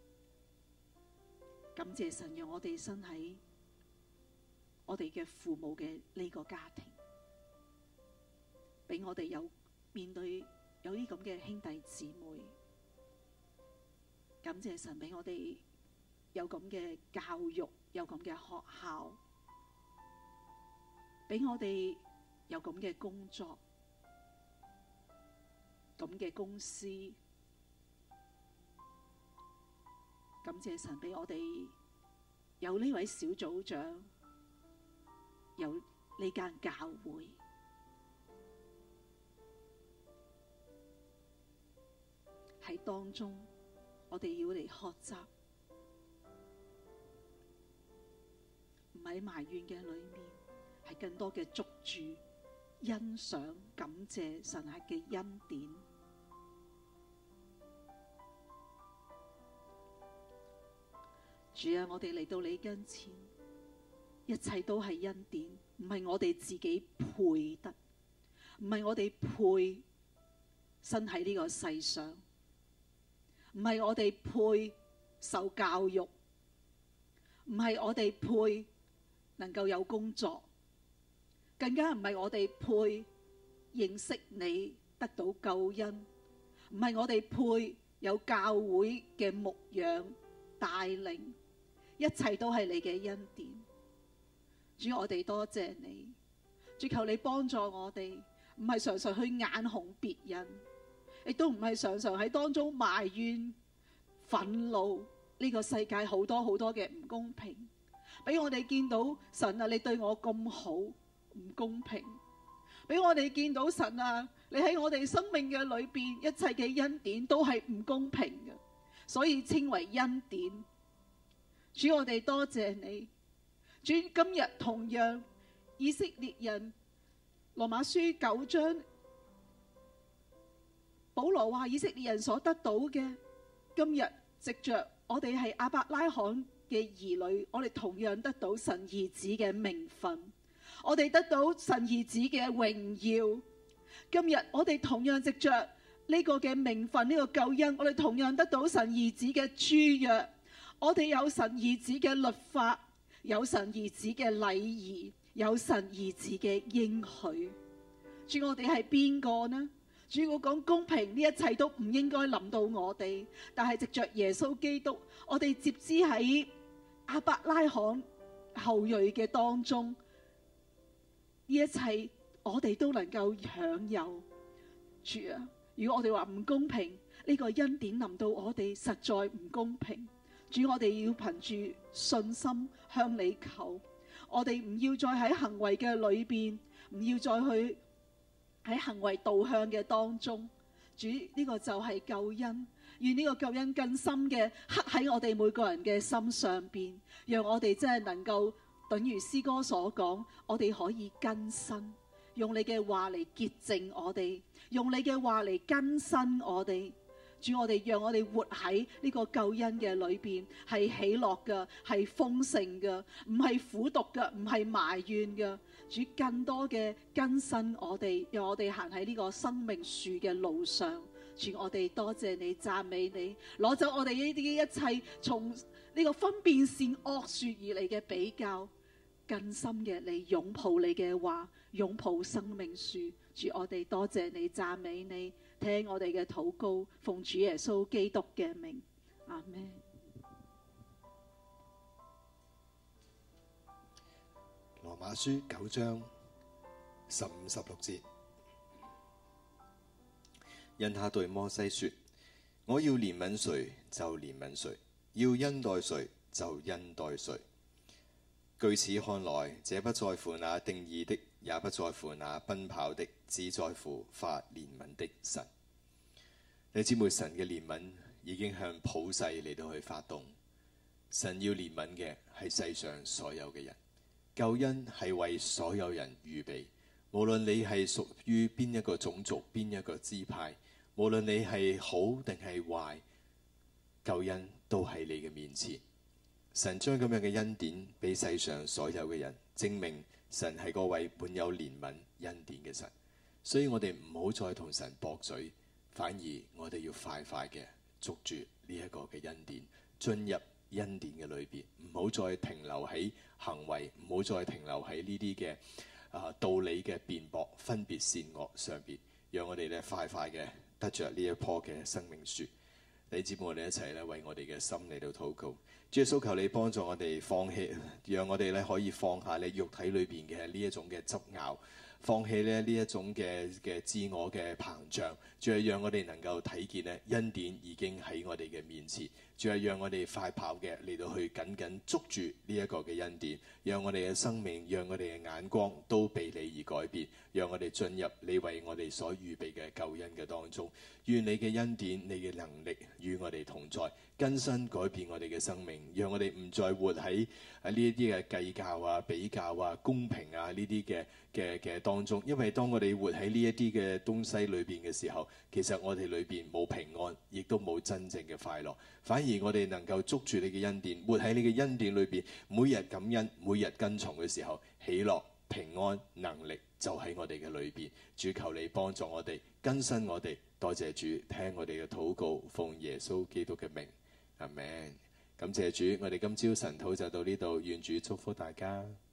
感謝神讓我哋生喺我哋嘅父母嘅呢個家庭，俾我哋有面對有啲咁嘅兄弟姊妹。感謝神俾我哋有咁嘅教育，有咁嘅學校，俾我哋有咁嘅工作，咁嘅公司。感謝神俾我哋有呢位小組長，有呢間教會。喺當中，我哋要嚟學習，唔喺埋怨嘅裏面，係更多嘅捉住、欣賞、感謝神嘅恩典。主啊，我哋嚟到你跟前，一切都係恩典，唔係我哋自己配得，唔係我哋配生喺呢個世上，唔係我哋配受教育，唔係我哋配能夠有工作，更加唔係我哋配認識你得到救恩，唔係我哋配有教會嘅牧養帶領，一切都係你嘅恩典。主，我哋多謝你，主，求你幫助我哋，唔係常常去眼紅別人，亦都唔係常常喺當中埋怨憤怒呢個世界好多好多嘅唔公平，俾我哋見到神啊，你對我咁好，唔公平，俾我哋見到神啊，你喺我哋生命嘅裏邊一切嘅恩典都係唔公平嘅， 所以稱為恩典。主，我哋多謝你。主，今日同樣以色列人羅馬書9章，保羅話以色列人所得到嘅，今日藉着我哋係亞伯拉罕嘅兒女，我哋同樣得到神兒子嘅名分，我哋得到神兒子嘅榮耀。今日我哋同樣藉着呢個嘅名分，呢個救恩，我哋同樣得到神兒子嘅諸約，我哋有神兒子嘅律法，有神兒子嘅禮儀，有神兒子嘅應許。主，我哋係邊個呢？主，我講公平，呢一切都唔應該臨到我哋，但係藉着耶穌基督，我哋接枝喺亞伯拉罕後裔嘅當中，呢一切我哋都能夠享有。主啊，如果我哋話唔公平，呢個恩典臨到我哋實在唔公平。主，我哋要憑住信心向你求，我哋唔要再喺行為嘅裏邊，唔要再去喺行為導向嘅當中。主，呢個就係救恩，願呢個救恩更深嘅刻喺我哋每個人嘅心上邊，讓我哋真係能夠等如詩歌所講，我哋可以更新，用你嘅話嚟潔淨我哋，用你嘅話嚟更新我哋。主，我哋讓我哋活喺呢個救恩嘅裏邊，係喜樂嘅，係豐盛嘅，唔係苦毒嘅，唔係埋怨嘅。主，更多嘅更新我哋，讓我哋行喺呢個生命樹嘅路上。主，我哋多謝你，讚美你，攞走我哋呢啲一切從呢個分辨善惡樹而嚟嘅比較，更深嘅嚟擁抱你嘅話，擁抱生命樹。主，我哋多謝你，讚美你，聽我哋嘅禱告，奉主耶穌基督嘅名，阿們。 羅馬書9章15、16節，因他對摩西說：我要憐憫誰就憐憫誰，要恩待誰就恩待誰。據此看來，這不在乎那定義的，也不在乎那奔跑的，只在乎發憐憫的神。你姊妹，神嘅憐憫已經向普世嚟到去發動。神要憐憫嘅係世上所有嘅人，救恩係為所有人預備。無論你係屬於邊一個種族、邊一個支派，無論你係好定係壞，救恩都喺你嘅面前。神將咁樣嘅恩典俾世上所有嘅人，證明神係嗰位滿有憐憫恩典嘅神。所以我哋唔好再同神駁嘴，反而我哋要快快嘅捉住呢一個嘅恩典，進入恩典嘅裏邊，唔好再停留喺行為，唔好再停留喺呢啲嘅道理嘅辯駁、分別善惡上邊，讓我哋咧快快嘅得着呢一棵嘅生命樹。你姊妹，我哋一齊咧為我哋嘅心嚟到禱告。主耶穌，求你幫助我哋放棄，讓我哋咧可以放下你肉體裏邊嘅呢一種嘅執拗，放棄咧呢一種嘅自我嘅膨脹。主係讓我哋能夠睇見咧恩典已經喺我哋嘅面前。主係讓我哋快跑嘅嚟到去緊緊捉住呢一個嘅恩典，讓我哋嘅生命，讓我哋嘅眼光都被你而改變，讓我哋進入你為我哋所預備嘅救恩嘅當中。願你嘅恩典、你嘅能力與我哋同在，更新改變我哋嘅生命，讓我哋唔再活喺呢一啲嘅計較啊、比較啊、公平啊呢啲嘅當中。因為當我哋活喺呢一啲嘅東西裏邊嘅時候，其實我哋裏邊冇平安，亦都冇真正嘅快樂。反而我哋能夠捉住你嘅恩典，活喺你嘅恩典裏邊，每日感恩，每日跟從嘅時候，喜樂、平安、能力就喺我哋嘅裏邊。主，求你幫助我哋，更新我哋。多謝主，聽我哋嘅禱告，奉耶穌基督嘅名，阿們。感謝主，我哋今朝晨禱就到呢度，願主祝福大家。